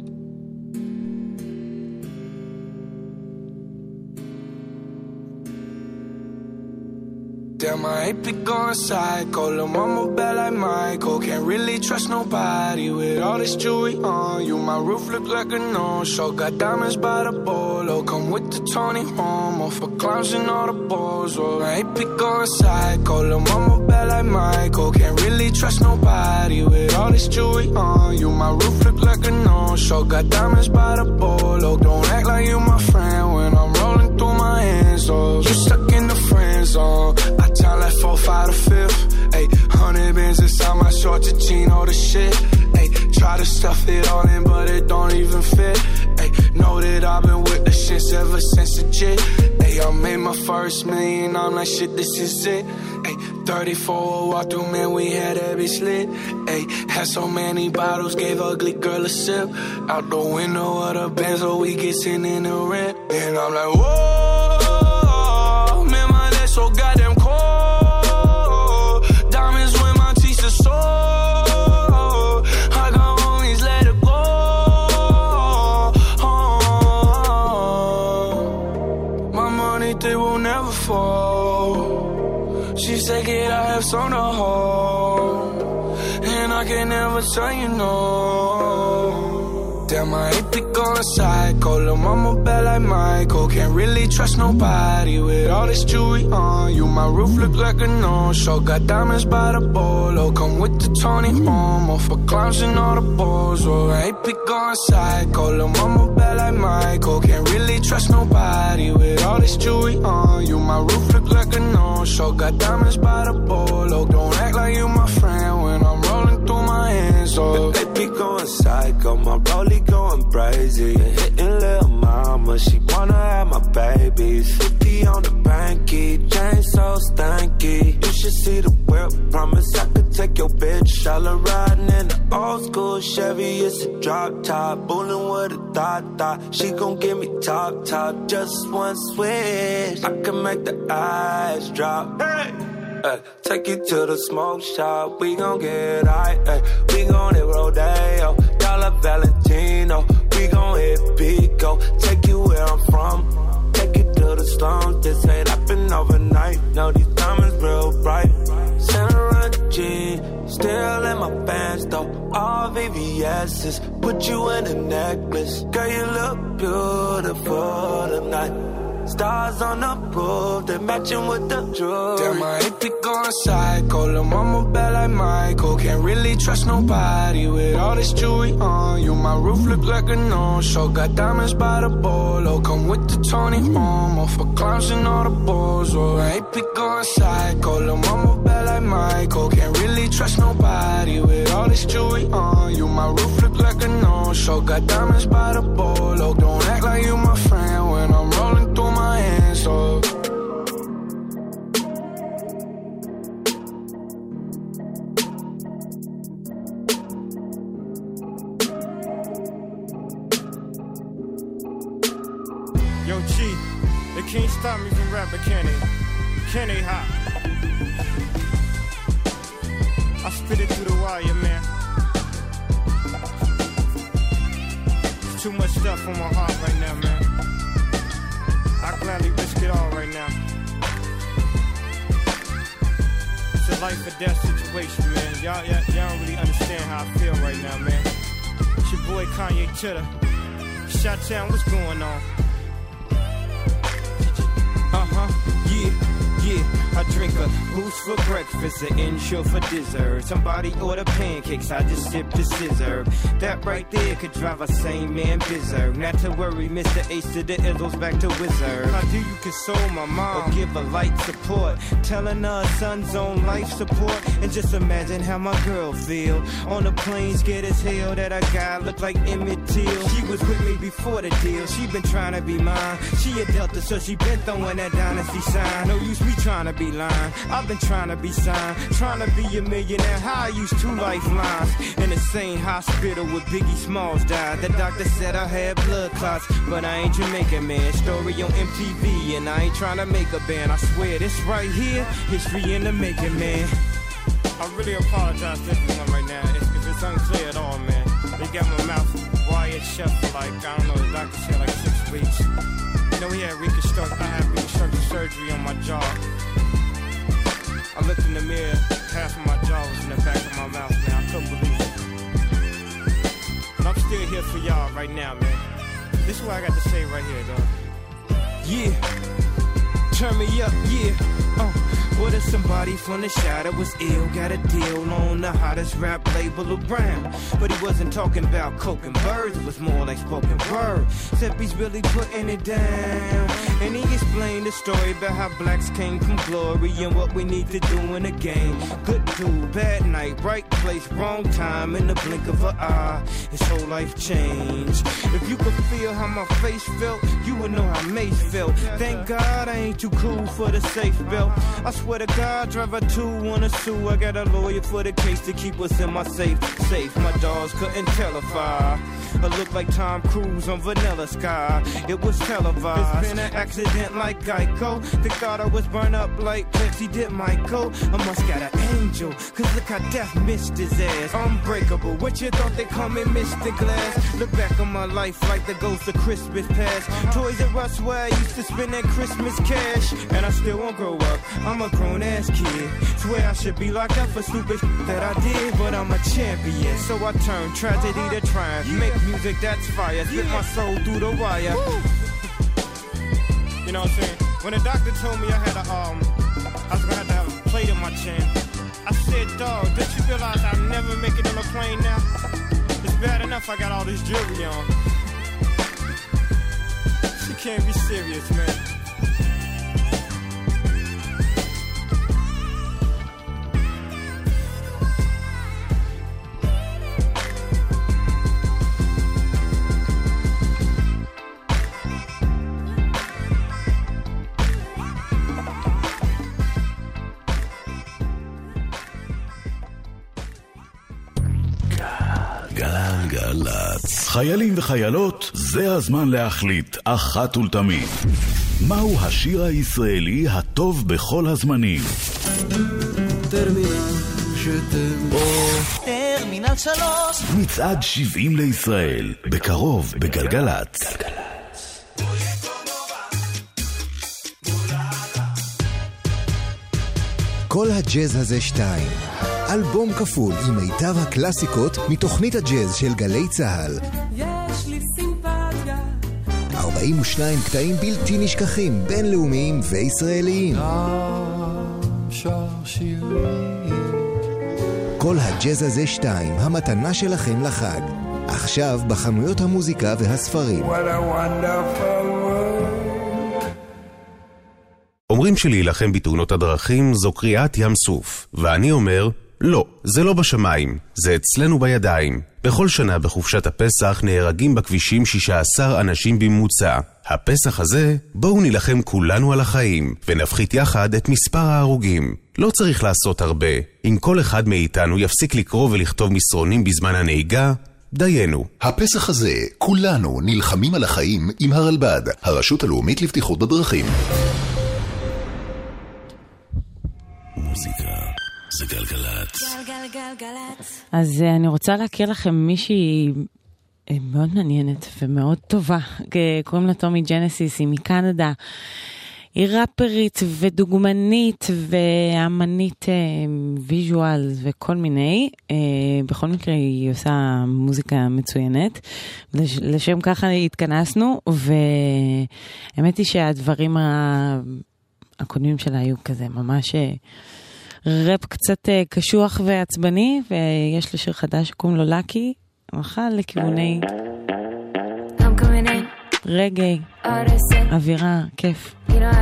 Damn, I ain't be going psycho. Lil' mama bad like Michael. Can't really trust nobody with all this jewelry on you. My roof look like a no-show. Got diamonds by the bolo. Come with the Tony Homo for clowns and all the balls. Oh, I ain't be going psycho. Lil' mama bad like Michael. Can't really trust nobody with all this jewelry on you. My roof look like a no-show. Got diamonds by the bolo. Don't act like you my friend when I'm rolling through my hands. Oh, you stuck in the friend zone. Time like 4, 5 to 5th. Ayy, 100 bins inside my short to chino the shit. Ayy, try to stuff it all in, but it don't even fit. Ayy, know that I've been with the shits ever since the jit. Ayy, I made my first million, I'm like shit, this is it. Ayy, 34 walk through, man, we had every slit. Ayy, had so many bottles, gave ugly girl a sip. Out the window of the Benz, so we get sitting in the rent. And I'm like, whoa, man, my neck so goddamn cold. Take it, I have some to hold, and I can never tell you no. Damn, I ain't be going psycho. Lil' mama bad like Michael. Can't really trust nobody with all this jewelry on you. My roof look like a no-show. Got diamonds by the bolo. Come with the Tony Homo for clowns and all the balls. Oh, I ain't be going psycho. Lil' mama bad like Michael. Can't really trust nobody with all this jewelry on you. My roof look like a no-show. Got diamonds by the bolo. Don't act like you my friend when I'm rolling through my hands. Oh, they be going psycho. My rollie going crazy. Hitting lil' mama, she wanna have my babies. 50 on the banky, chain so stanky. You should see the whip, promise I could take your bitch. All her riding in the old school Chevy, it's a drop top. Bullin' with a thought. She gon' give me top, just one switch. I can make the eyes drop. Hey! Take you to the smoke shop, we gon' get high. We gon' hit Rodeo, Dollar Valentino. We gon' hit Pico, take you where I'm from. Take you to the slums, this ain't happen overnight. No, these diamonds real bright. Center jean, still in my pants though. All VVS's, put you in a necklace. Girl, you look beautiful tonight. Stars on the roof, they matching with the jewelry. Damn, I ain't be going psycho. Lil' mama bad like Michael. Can't really trust nobody with all this jewelry on you. My roof look like a no-show. Got diamonds by the bolo. Come with the Tony Homo for clowns and all the balls. Oh, I ain't be going psycho. Lil' mama bad like Michael. Can't really trust nobody with all this jewelry on you. My roof look like a no-show. Got diamonds by the bolo. Don't act like you my friend when I'm rolling through my hands. Oh. Yo, G, they can't stop me from rapping, can they? Can they hop? I spit it through the wire, man. There's too much stuff on my heart right now, man. I gladly risk it all right now. It's a life or death situation, man. Y'all don't really understand how I feel right now, man. It's your boy Kanye Chitter. Shot-town, what's going on? Yeah, I drink a boost for breakfast, an insure for dessert. Somebody order pancakes, I just sip the scissor. That right there could drive a sane man berserk. Not to worry, Mr. Ace to the Izzles back to Wizard. How do you console my mom or give her light support? Telling her son's on life support. And just imagine how my girl feel on the plane, scared as hell that a guy look like Emmett Till. She was with me before the deal, she been trying to be mine. She a Delta, so she been throwing that dynasty sign. No use me trying to be lying, I've been trying to be signed. Trying to be a millionaire, how I used 2 lifelines. In the same hospital where Biggie Smalls died. The doctor said I had blood clots, but I ain't Jamaican, man. Story on MTV, and I ain't trying to make a band. I swear this right here, history in the making, man. I really apologize to everyone right now if it's unclear at all, man. got my mouth wired shut for like, I don't know, the doctor said like 6 weeks. You know, I had reconstructive surgery on my jaw. I looked in the mirror, half of my jaw was in the back of my mouth, man. I couldn't believe it. But I'm still here for y'all right now, man. This is what I got to say right here, dog. Yeah. Turn me up, yeah. What if somebody from the shadow was ill, got a deal on the hottest rap label around? But he wasn't talking about coke and birds, it was more like spoken word. Except he's really putting it down. And he explained the story about how blacks came from glory and what we need to do in the game. Good dude, bad night, right place, wrong time, in the blink of an eye. His whole life changed. If you could feel how my face felt, you would know how Mace felt. Thank God I ain't too cool for the safe belt. I swear to God, driver 2 wanna sue. I got a lawyer for the case to keep us in my safe. My dogs couldn't tell if I looked like Tom Cruise on Vanilla Sky. It was televised. It's been an accident like Geico. They thought I was burned up like Pepsi did Michael. I must got an angel, cause look how death missed his ass. Unbreakable, what you thought they call me Mr. Glass? Look back on my life like the ghost of Christmas past. Toys R Us where I used to spend that Christmas cash. And I still won't grow up, I'm a grown ass kid. Swear I should be locked up for stupid that I did, but I'm a champion. So I turn tragedy to triumph. Make music that's fire, spit my soul through the wire. You know what I'm saying? When the doctor told me I was gonna have to have a plate in my chin, I said, dog, don't you realize I'll never make it on a plane now? It's bad enough I got all this jewelry on. She can't be serious, man. גלגלצ. חיילים וחיילות, זה הזמן להחליט אחת ולתמיד. מהו השיר הישראלי הטוב בכל הזמנים? טרמינל 3 מצעד 70 לישראל, בקרוב בגלגלצ. כל הג'אז הזה 2, אלבום כפול עם מיטב הקלאסיקות מתוכנית הג'אז של גלי צהל. יש לי סימפתיה 42 קטעים בלתי נשכחים, בינלאומיים וישראליים. כל הג'אז הזה 2, המתנה שלכם לחג. עכשיו בחנויות המוזיקה והספרים. אומרים שלהילחם בתאונות הדרכים זו קריאת ים סוף, ואני אומר, לא, זה לא בשמיים, זה אצלנו בידיים. בכל שנה בחופשת הפסח נהרגים בכבישים 16 אנשים בממוצע. הפסח הזה, בואו נילחם כולנו על החיים, ונפחית יחד את מספר ההרוגים. לא צריך לעשות הרבה. אם כל אחד מאיתנו יפסיק לקרוא ולכתוב מסרונים בזמן הנהיגה, דיינו. הפסח הזה, כולנו נלחמים על החיים עם הרלב"ד, הרשות הלאומית לבטיחות בדרכים. מוזיקה זה גלגלצ. גלגלגלגלצ. אז אני רוצה להכיר לכם מישהי מאוד מעניינת ומאוד טובה. קוראים לה טומי ג'נסיס, היא מקנדה. היא ראפרית ודוגמנית ואמנית ויז'ואל וכל מיני. בכל מקרה היא עושה מוזיקה מצוינת. לשם ככה התכנסנו, והאמת היא שהדברים הקודמים שלה היו כזה ממש רפ קצת קשוח ועצבני, ויש לשיר חדש שקוראים לו לקי, הלכה לכיווני רגעי, אווירה, כיף.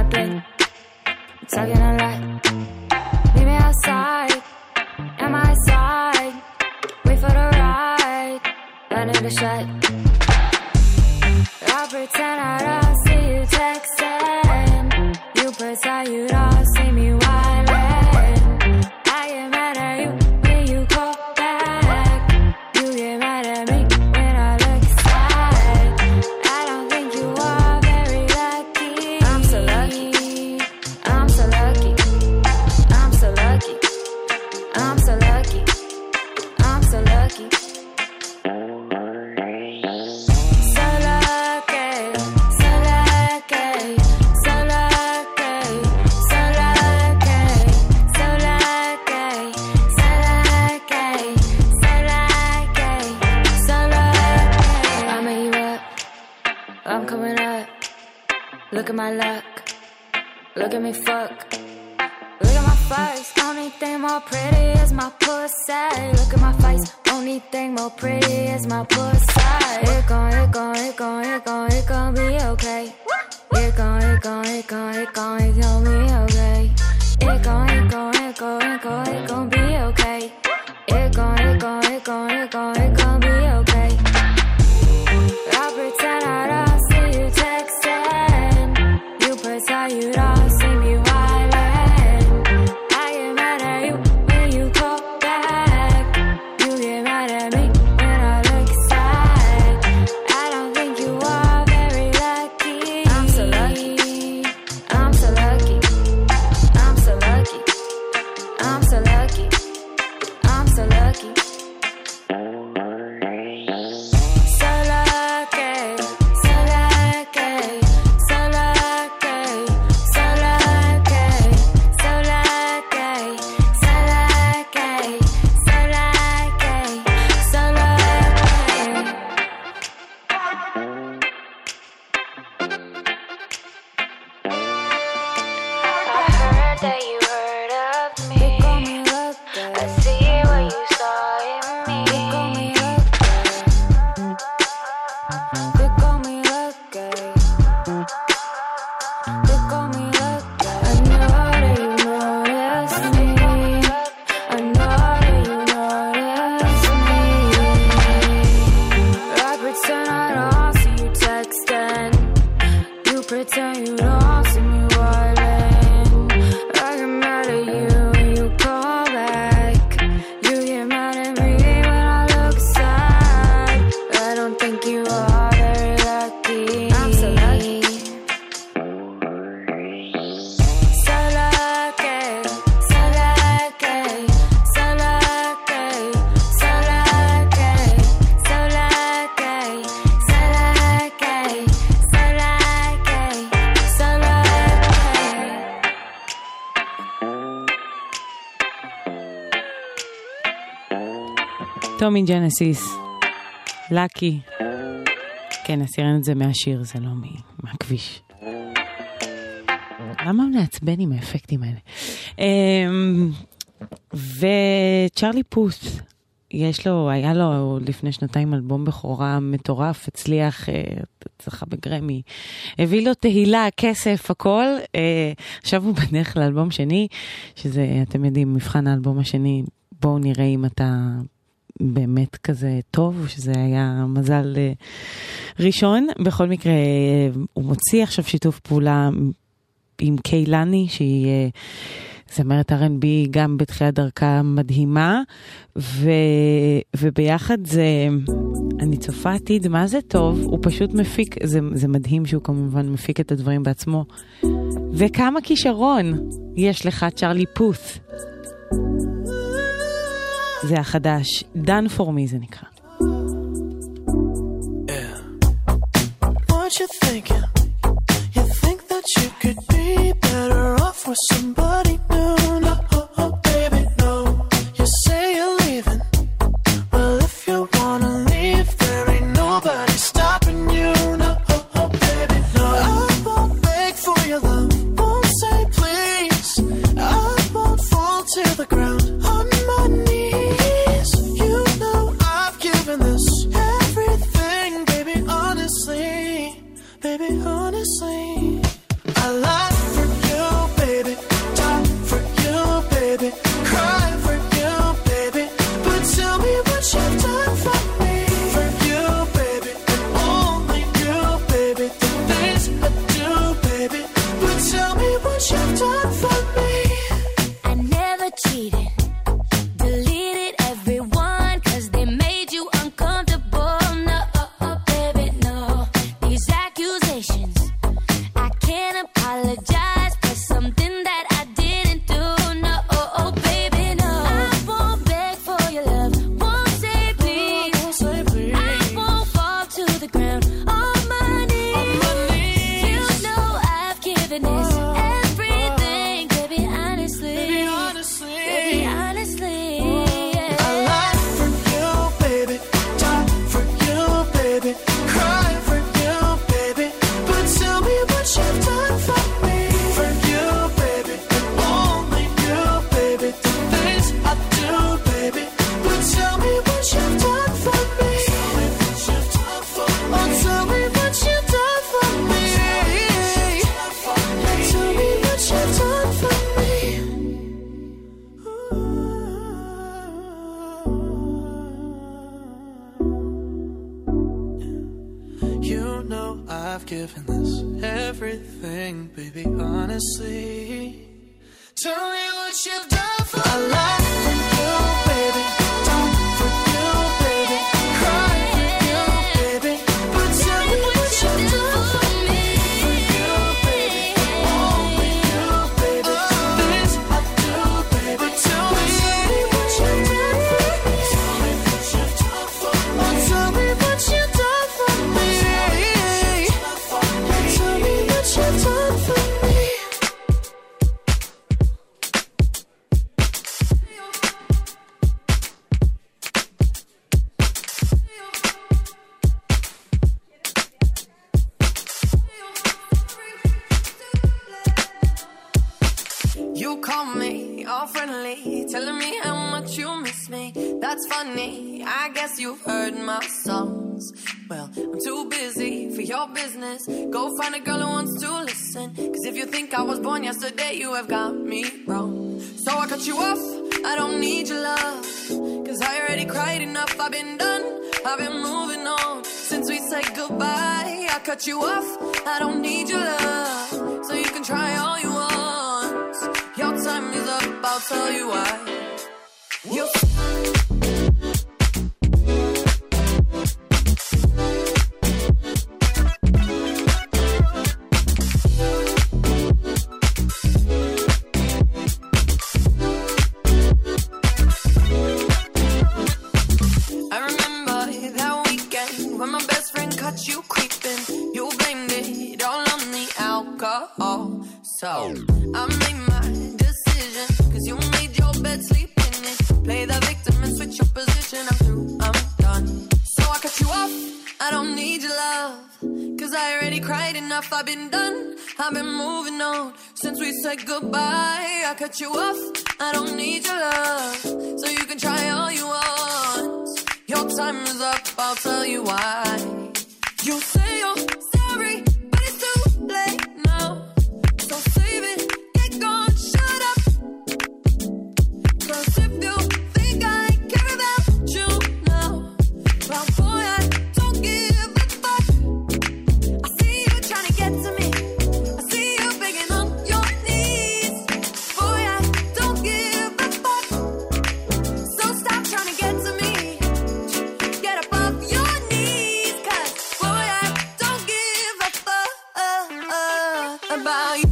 You don't see me wildin'. I get mad at you when you call back. You get mad at me when I look sad. I don't think you are very lucky. I'm so lucky. I'm so lucky. I'm so lucky. I'm so lucky. I'm so lucky. Look at my luck. Look at me fuck. Look at my face. Only thing more pretty is my pussy. Look at my face. Only thing more pretty is my pussy. It gon' be okay. It gon' be okay. It gon' be okay. It gon' be okay. I pretend I don't see you texting. You pretend you don't see me wildin'. I get mad at you when you call back. You get mad at me when I look sad. I don't think you are very lucky. I'm so lucky. I'm so lucky. I'm so lucky. I'm so lucky. I'm so lucky. טומי ג'נסיס, לקי. כן, עשירן את זה מהשיר, זה לא מהכביש. למה נעצבן עם האפקטים האלה? וצ'רלי פוס, היה לו לפני שנתיים אלבום בכורה מטורף, הצליח, זכה בגרמי, הביא לו תהילה, כסף, הכל. עכשיו הוא בדרך לאלבום שני, שזה, אתם יודעים, מבחן האלבום השני, בואו נראה אם אתה באמת כזה טוב, שזה היה מזל ראשון. בכל מקרה, הוא מוציא עכשיו שיתוף פעולה עם קיילני, שהיא זמרת R&B גם בתחילת דרכה מדהימה, וביחד זה, אני צופה עתיד, מה זה טוב, הוא פשוט מפיק, זה מדהים שהוא כמובן מפיק את הדברים בעצמו, וכמה כישרון יש לך, צ'רלי פוס. זה החדש, Done For Me זה נקרא. What you thinking? You think that you could be better off with somebody new? No, oh, baby, no. You say you're leaving. Well, if you wanna leave, there ain't nobody stopping you. No, oh, baby, no. I won't beg for your love, won't say please. I won't fall to the ground on my knees. You know I've given this everything, baby, honestly. Baby, honestly, I lied for you, baby. giving this everything, baby, honestly. Tell me what you've done for me. I love for you, baby. Done for you, baby. Cry for you, baby. But tell me what you've done for me. For you, baby. Only you, baby. This I do, baby. Tell me what you've done for me. Tell me what you've done for me. Tell me what you've done for me. Tell me what you've done for me. You call me all friendly, telling me how much you miss me. That's funny, I guess you've heard my songs. Well, I'm too busy for your business. Go find a girl who wants to listen. Cause if you think I was born yesterday, you have got me wrong. So I cut you off, I don't need your love. Cause I already cried enough, I've been done, I've been moving on. Since we said goodbye, I cut you off, I don't need your love. So you can try all you want. Your time is up, I'll tell you why. I remember that weekend when my best friend caught you creeping. You blamed it all on the alcohol. So I made my decision, cause you made your bed, sleep in it. Play the victim and switch your position. I'm through, I'm done. So I cut you off, I don't need your love. Cause I already cried enough, I've been done, I've been moving on. Since we said goodbye, I cut you off, I don't need your love. So you can try all you want. Your time is up, I'll tell you why. You say you're sorry, but it's too late now. So save it, get gone, shut up. Cause if you think I care about you now, well boy, I don't give a fuck. I see you trying to get to me, I see you begging on your knees. Boy, I don't give a fuck. So stop trying to get to me, get up off your knees. Cause boy, I don't give a fuck about you.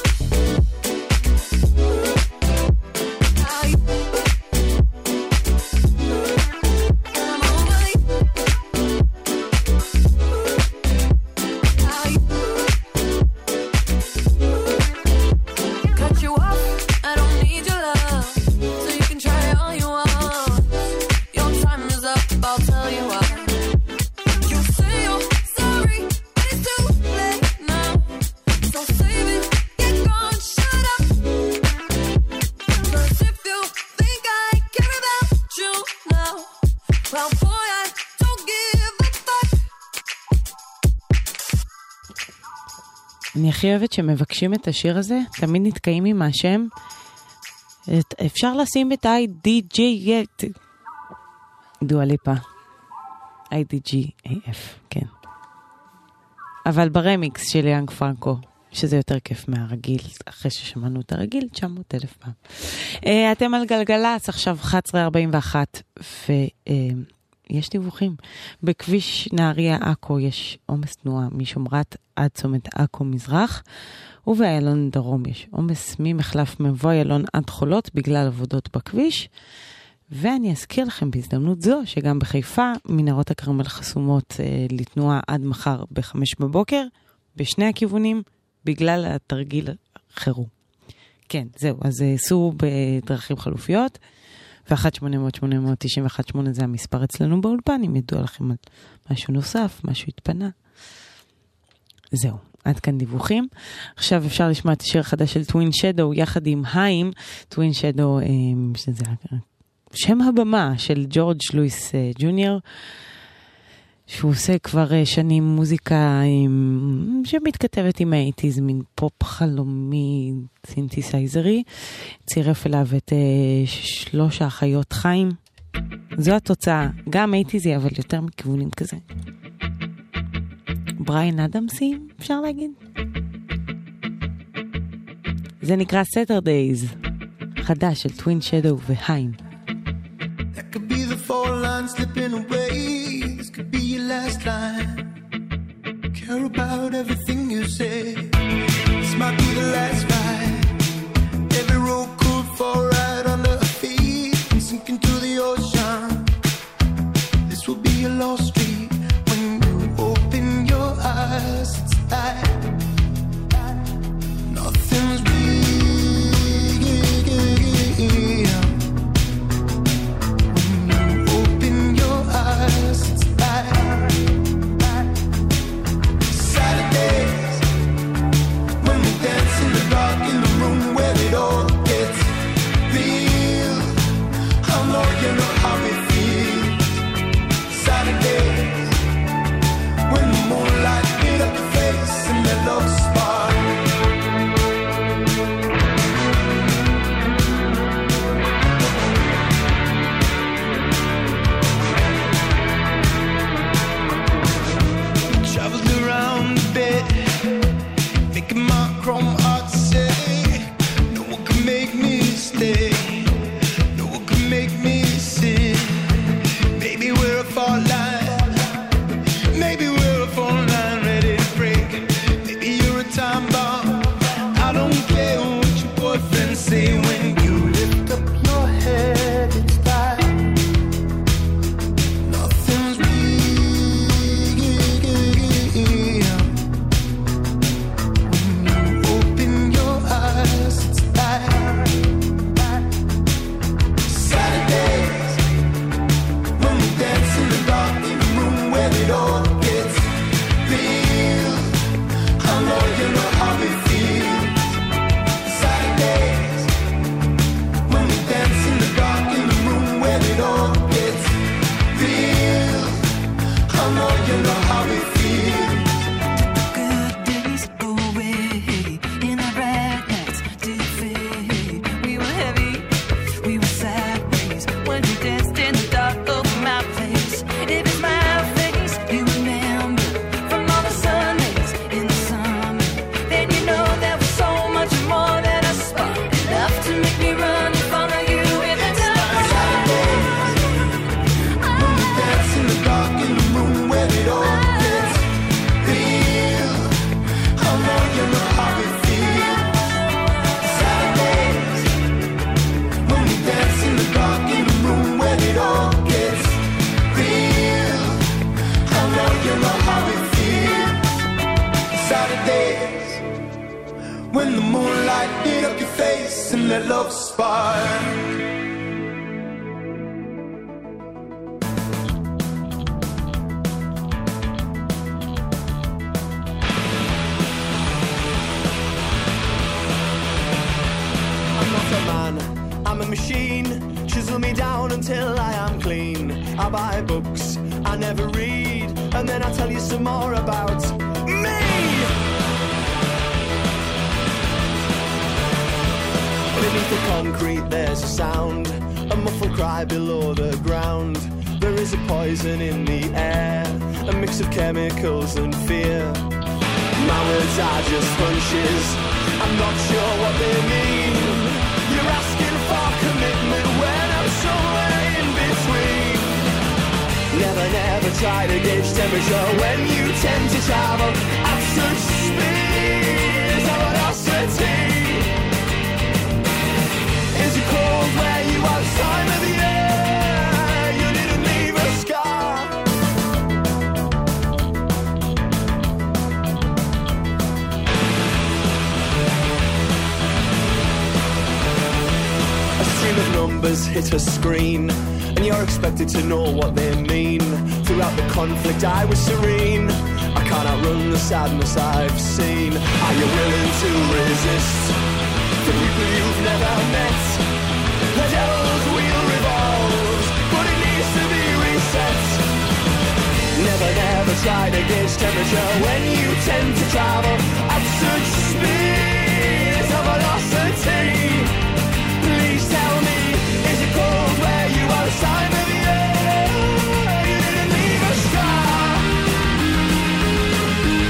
Cut you off, I don't need your love. So you can try all you want. Your time is up, I'll tell you why. You say you're sorry, but it's too late now. So save it, get gone, shut up. Cause if you think I care about you now, well boy, I don't give a fuck. אני הכי אוהבת שמבקשים את השיר הזה, תמיד נתקעים עם השם. אפשר לשים את IDG, דואה ליפה. IDGAF, כן. אבל ברמיקס של יאנג פרנקו, שזה יותר כיף מהרגיל, אחרי ששמענו את הרגיל, 900,000 פעם. אתם על גלגלץ, עכשיו 11:41, ויש דיווחים. בכביש נהריה עכו יש עומס תנועה משומרת עד צומת עכו מזרח, ובאיילון דרום יש עומס ממחלף מבוא איילון עד חולות בגלל עבודות בכביש. ואני אזכיר לכם בהזדמנות זו שגם בחיפה מנהרות הכרמל חסומות לתנועה עד מחר ב-5 בבוקר, בשני הכיוונים, בגלל התרגיל חירום. כן, זהו, אז סעו בדרכים חלופיות, ו-1-800-891-8 זה המספר אצלנו באולפן, אם ידוע לכם על משהו נוסף, משהו התפנה. זהו, עד כאן דיווחים. עכשיו אפשר לשמוע את השיר החדש של טווין שדו, יחד עם היים, טווין שדו, שזה שם הבמה של ג'ורג' לואיס ג'וניור, שהוא עושה כבר שנים מוזיקה שמתכתבת עם האייטיז, מין פופ חלומי, סינתסייזרי. צירף אליו את 3 האחיות חיים. זו התוצאה, גם אייטיזי, אבל יותר מכיוונים כזה. בריין אדמסים, אפשר להגיד? זה נקרא Saturdays, חדש של טווין שדו והיים. That could be the four lines slipping away. This could be your last line. Care about everything you say. This might be the last ride. Every road could fall right under our feet and sink into the ocean. This will be a lost street. When you open your eyes, it's like nothing's real. Hit a screen, and you're expected to know what they mean. Throughout the conflict I was serene. I can't outrun the sadness I've seen. Are you willing to resist the people you've never met? The devil's wheel revolves, but it needs to be reset. Never, never try to gauge temperature when you tend to travel at such speeds of velocity. Please tell me, is it cold where you are this time of year? You didn't leave a scar.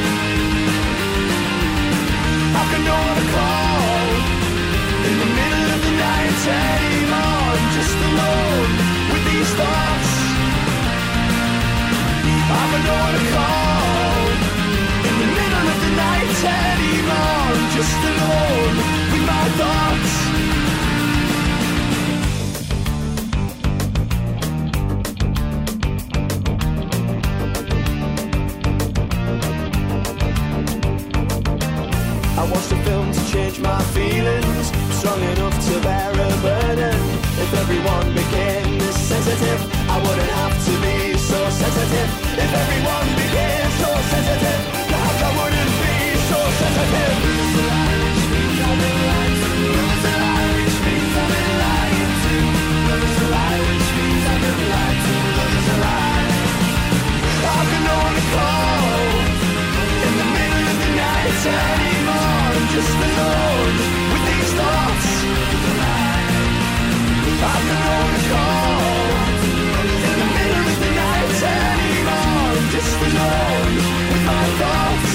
sensitive. I wouldn't have to be so sensitive. If everyone became so sensitive, perhaps I wouldn't be so sensitive. Which means I've been lied to. Which means I've been lied to. Which means I've been lied to. I can only call in the middle of the night anymore. I'm just alone with these thoughts. I can only call in the middle of the night anymore. I'm just alone with my thoughts.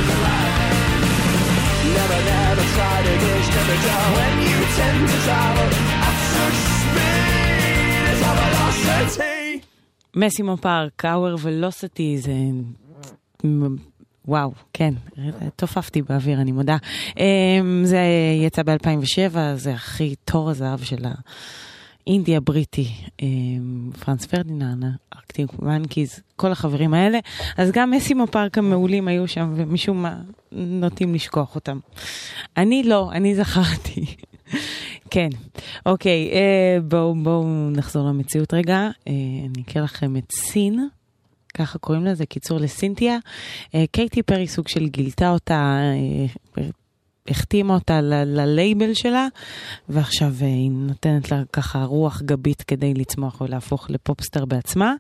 Never try to gauge temperature when you tend to travel at such speed. It's a velocity. מסימו פארק, Our Velocity, זה... וואו, כן, תופפתי באוויר, אני מודה. זה יצא ב-2007, זה הכי תור הזהב של האינדי הבריטי, פרנס פרדיננד, ארקטיק מנקיז, כל החברים האלה. אז גם מסימו פארק המעולים היו שם, ומשום מה נוטים לשכוח אותם. אני לא, אני זכרתי. כן, אוקיי, בואו נחזור למציאות רגע. אני אקרא לכם את סין, ככה קוראים לזה, קיצור לסינתיה. קייטי פרי סוג של גילתה אותה, החתימה אותה ללייבל שלה, ועכשיו היא נותנת לה ככה רוח גבית כדי לצמוח ולהפוך לפופסטר בעצמה.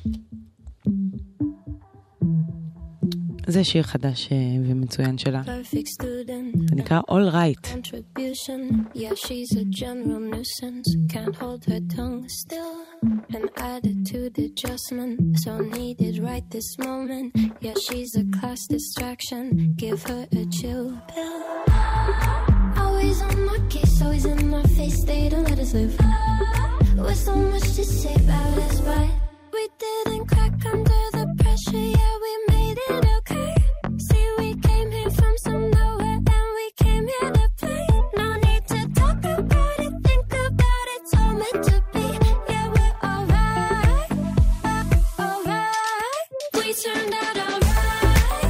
זה שיר חדש ומצוין שלה. זה נקרא All Right. Yeah, she's a general nuisance. Can't hold her tongue still. An attitude adjustment, so needed right this moment. Yeah, she's a class distraction. Give her a chill pill. Always on my case, always in my face. They don't let us live. With so much to say about us, but we didn't crack under the pressure. Yeah, we made it okay. See, we came here from some nowhere and we came here to play. No need to talk about it, think about it, it's all meant to be. Yeah, we're alright, alright. We turned out alright.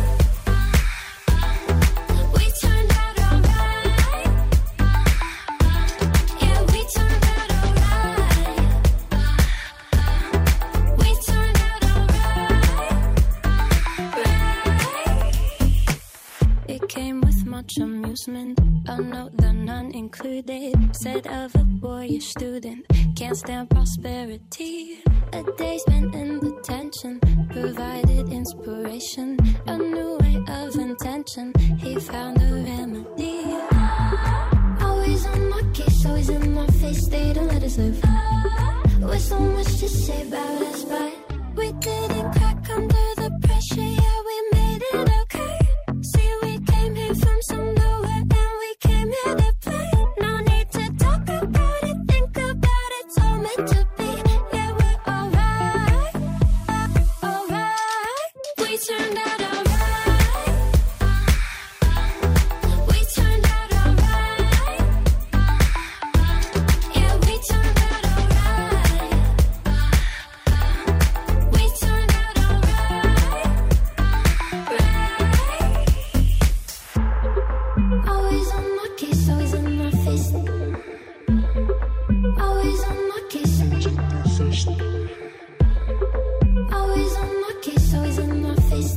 We turned out alright. Yeah, we turned out alright. We turned out alright. It came with much amusement, a note that none included. Said of a boyish student, can't stand prosperity. A day spent in detention provided inspiration, a new way of intention. He found a remedy. Always on my case, always in my face. They don't let us live. With so much to say about us, but we didn't crack under the pressure. Yeah, we made it okay. See, we came here from some nowhere and we came here to play. No need to talk about it, think about it, it's all meant to be. Yeah, we're alright, alright. We turned out alright. We turned out alright. Yeah, we turned out alright. We turned out alright. Always on my case, always in my face. Always on my case. Always on my case, always in my face.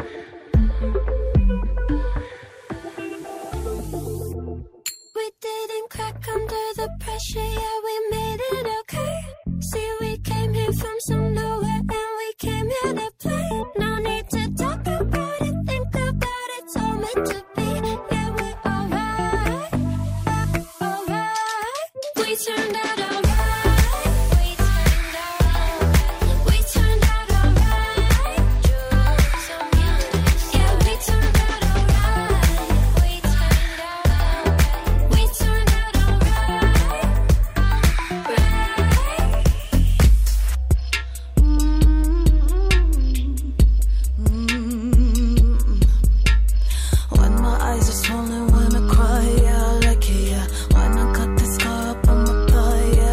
We didn't crack under the pressure, yeah, we made it okay. See, we came here from some nowhere and we came here to play. No need to talk about it, think about it, it's all meant to be. Yeah, we're alright, alright. We turned out alright. We turned out alright. Yeah, we turned out alright. We turned out alright. When my eyes are swollen, when I cry, yeah, I like it, yeah. When I cut the scar up on my thigh, yeah.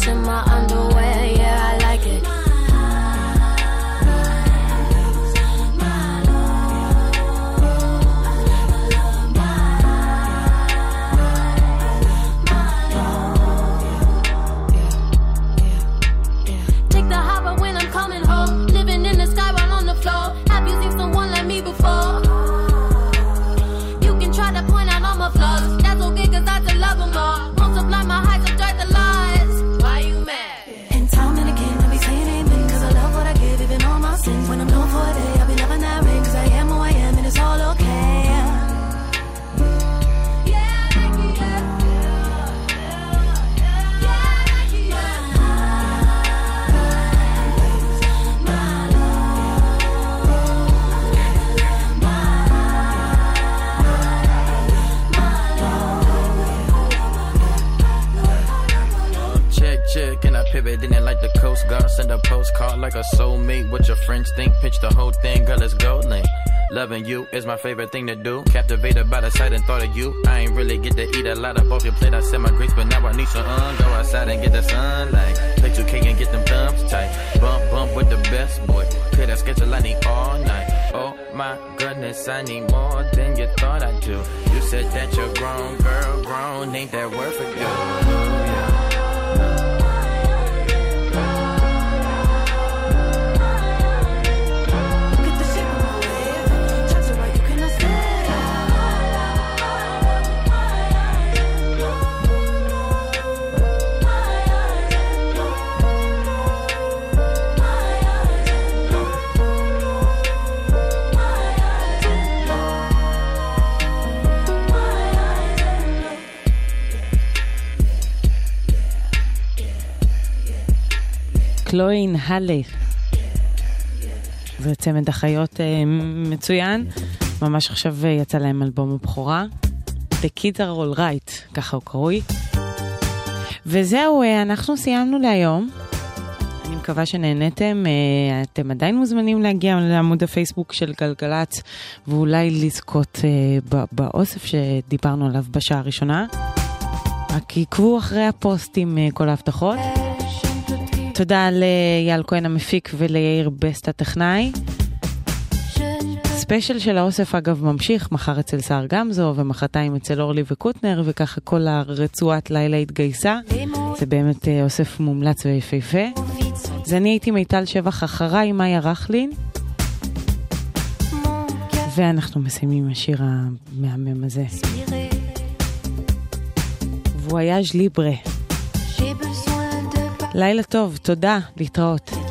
in my underwear, yeah, I like it. Take the hopper when I'm coming home. Living in the sky while on the floor. Have you seen someone like me before? You can try to point out all my flaws. That's okay, cause I just love them all. Multiply my height, subtract the lies. Why you mad? In time and again, I be saying amen, cause I love what I give, even all my sins. When I'm known for a day, I be loving that ring, cause I am who I am, and it's all okay. Check, and I pivot in it like the Coast Guard. Send a postcard like a soulmate. What your friends think, pitch the whole thing, girl, it's gold link. Loving you is my favorite thing to do. Captivated by the sight and thought of you. I ain't really get to eat a lot of off your plate. I said my grace, but now I need some go outside and get the sunlight. Play 2K and get them thumbs tight. Bump with the best boy. Play that schedule I need all night. Oh my goodness, I need more than you thought I do. You said that you're grown, girl, grown. Ain't that word for you? Yeah. קלוין הלה, זה צמד החיות מצוין, ממש עכשיו יצא להם אלבום הבכורה, The Kids Are All Right, ככה הוא קרוי. וזהו, אנחנו סיימנו להיום. אני מקווה שנהנתם. אתם עדיין מוזמנים להגיע לעמוד הפייסבוק של גלגלץ, ואולי לזכות באוסף שדיברנו עליו בשעה הראשונה. רק עקבו אחרי הפוסט עם כל ההבטחות. תודה ליאל כהן המפיק וליאיר בסט הטכנאי. ספיישל של האוסף אגב ממשיך, מחר אצל סער גמזו ומחרתיים אצל אורלי וקוטנר, וככה כל הרצועת לילה התגייסה. זה באמת אוסף מומלץ ויפהפה. אז אני הייתי מיטל שבח, אחריי מאיה רחלין, ואנחנו מסיימים עם השיר המהמם הזה, וויאז' ליברה. לילה טוב, תודה, להתראות.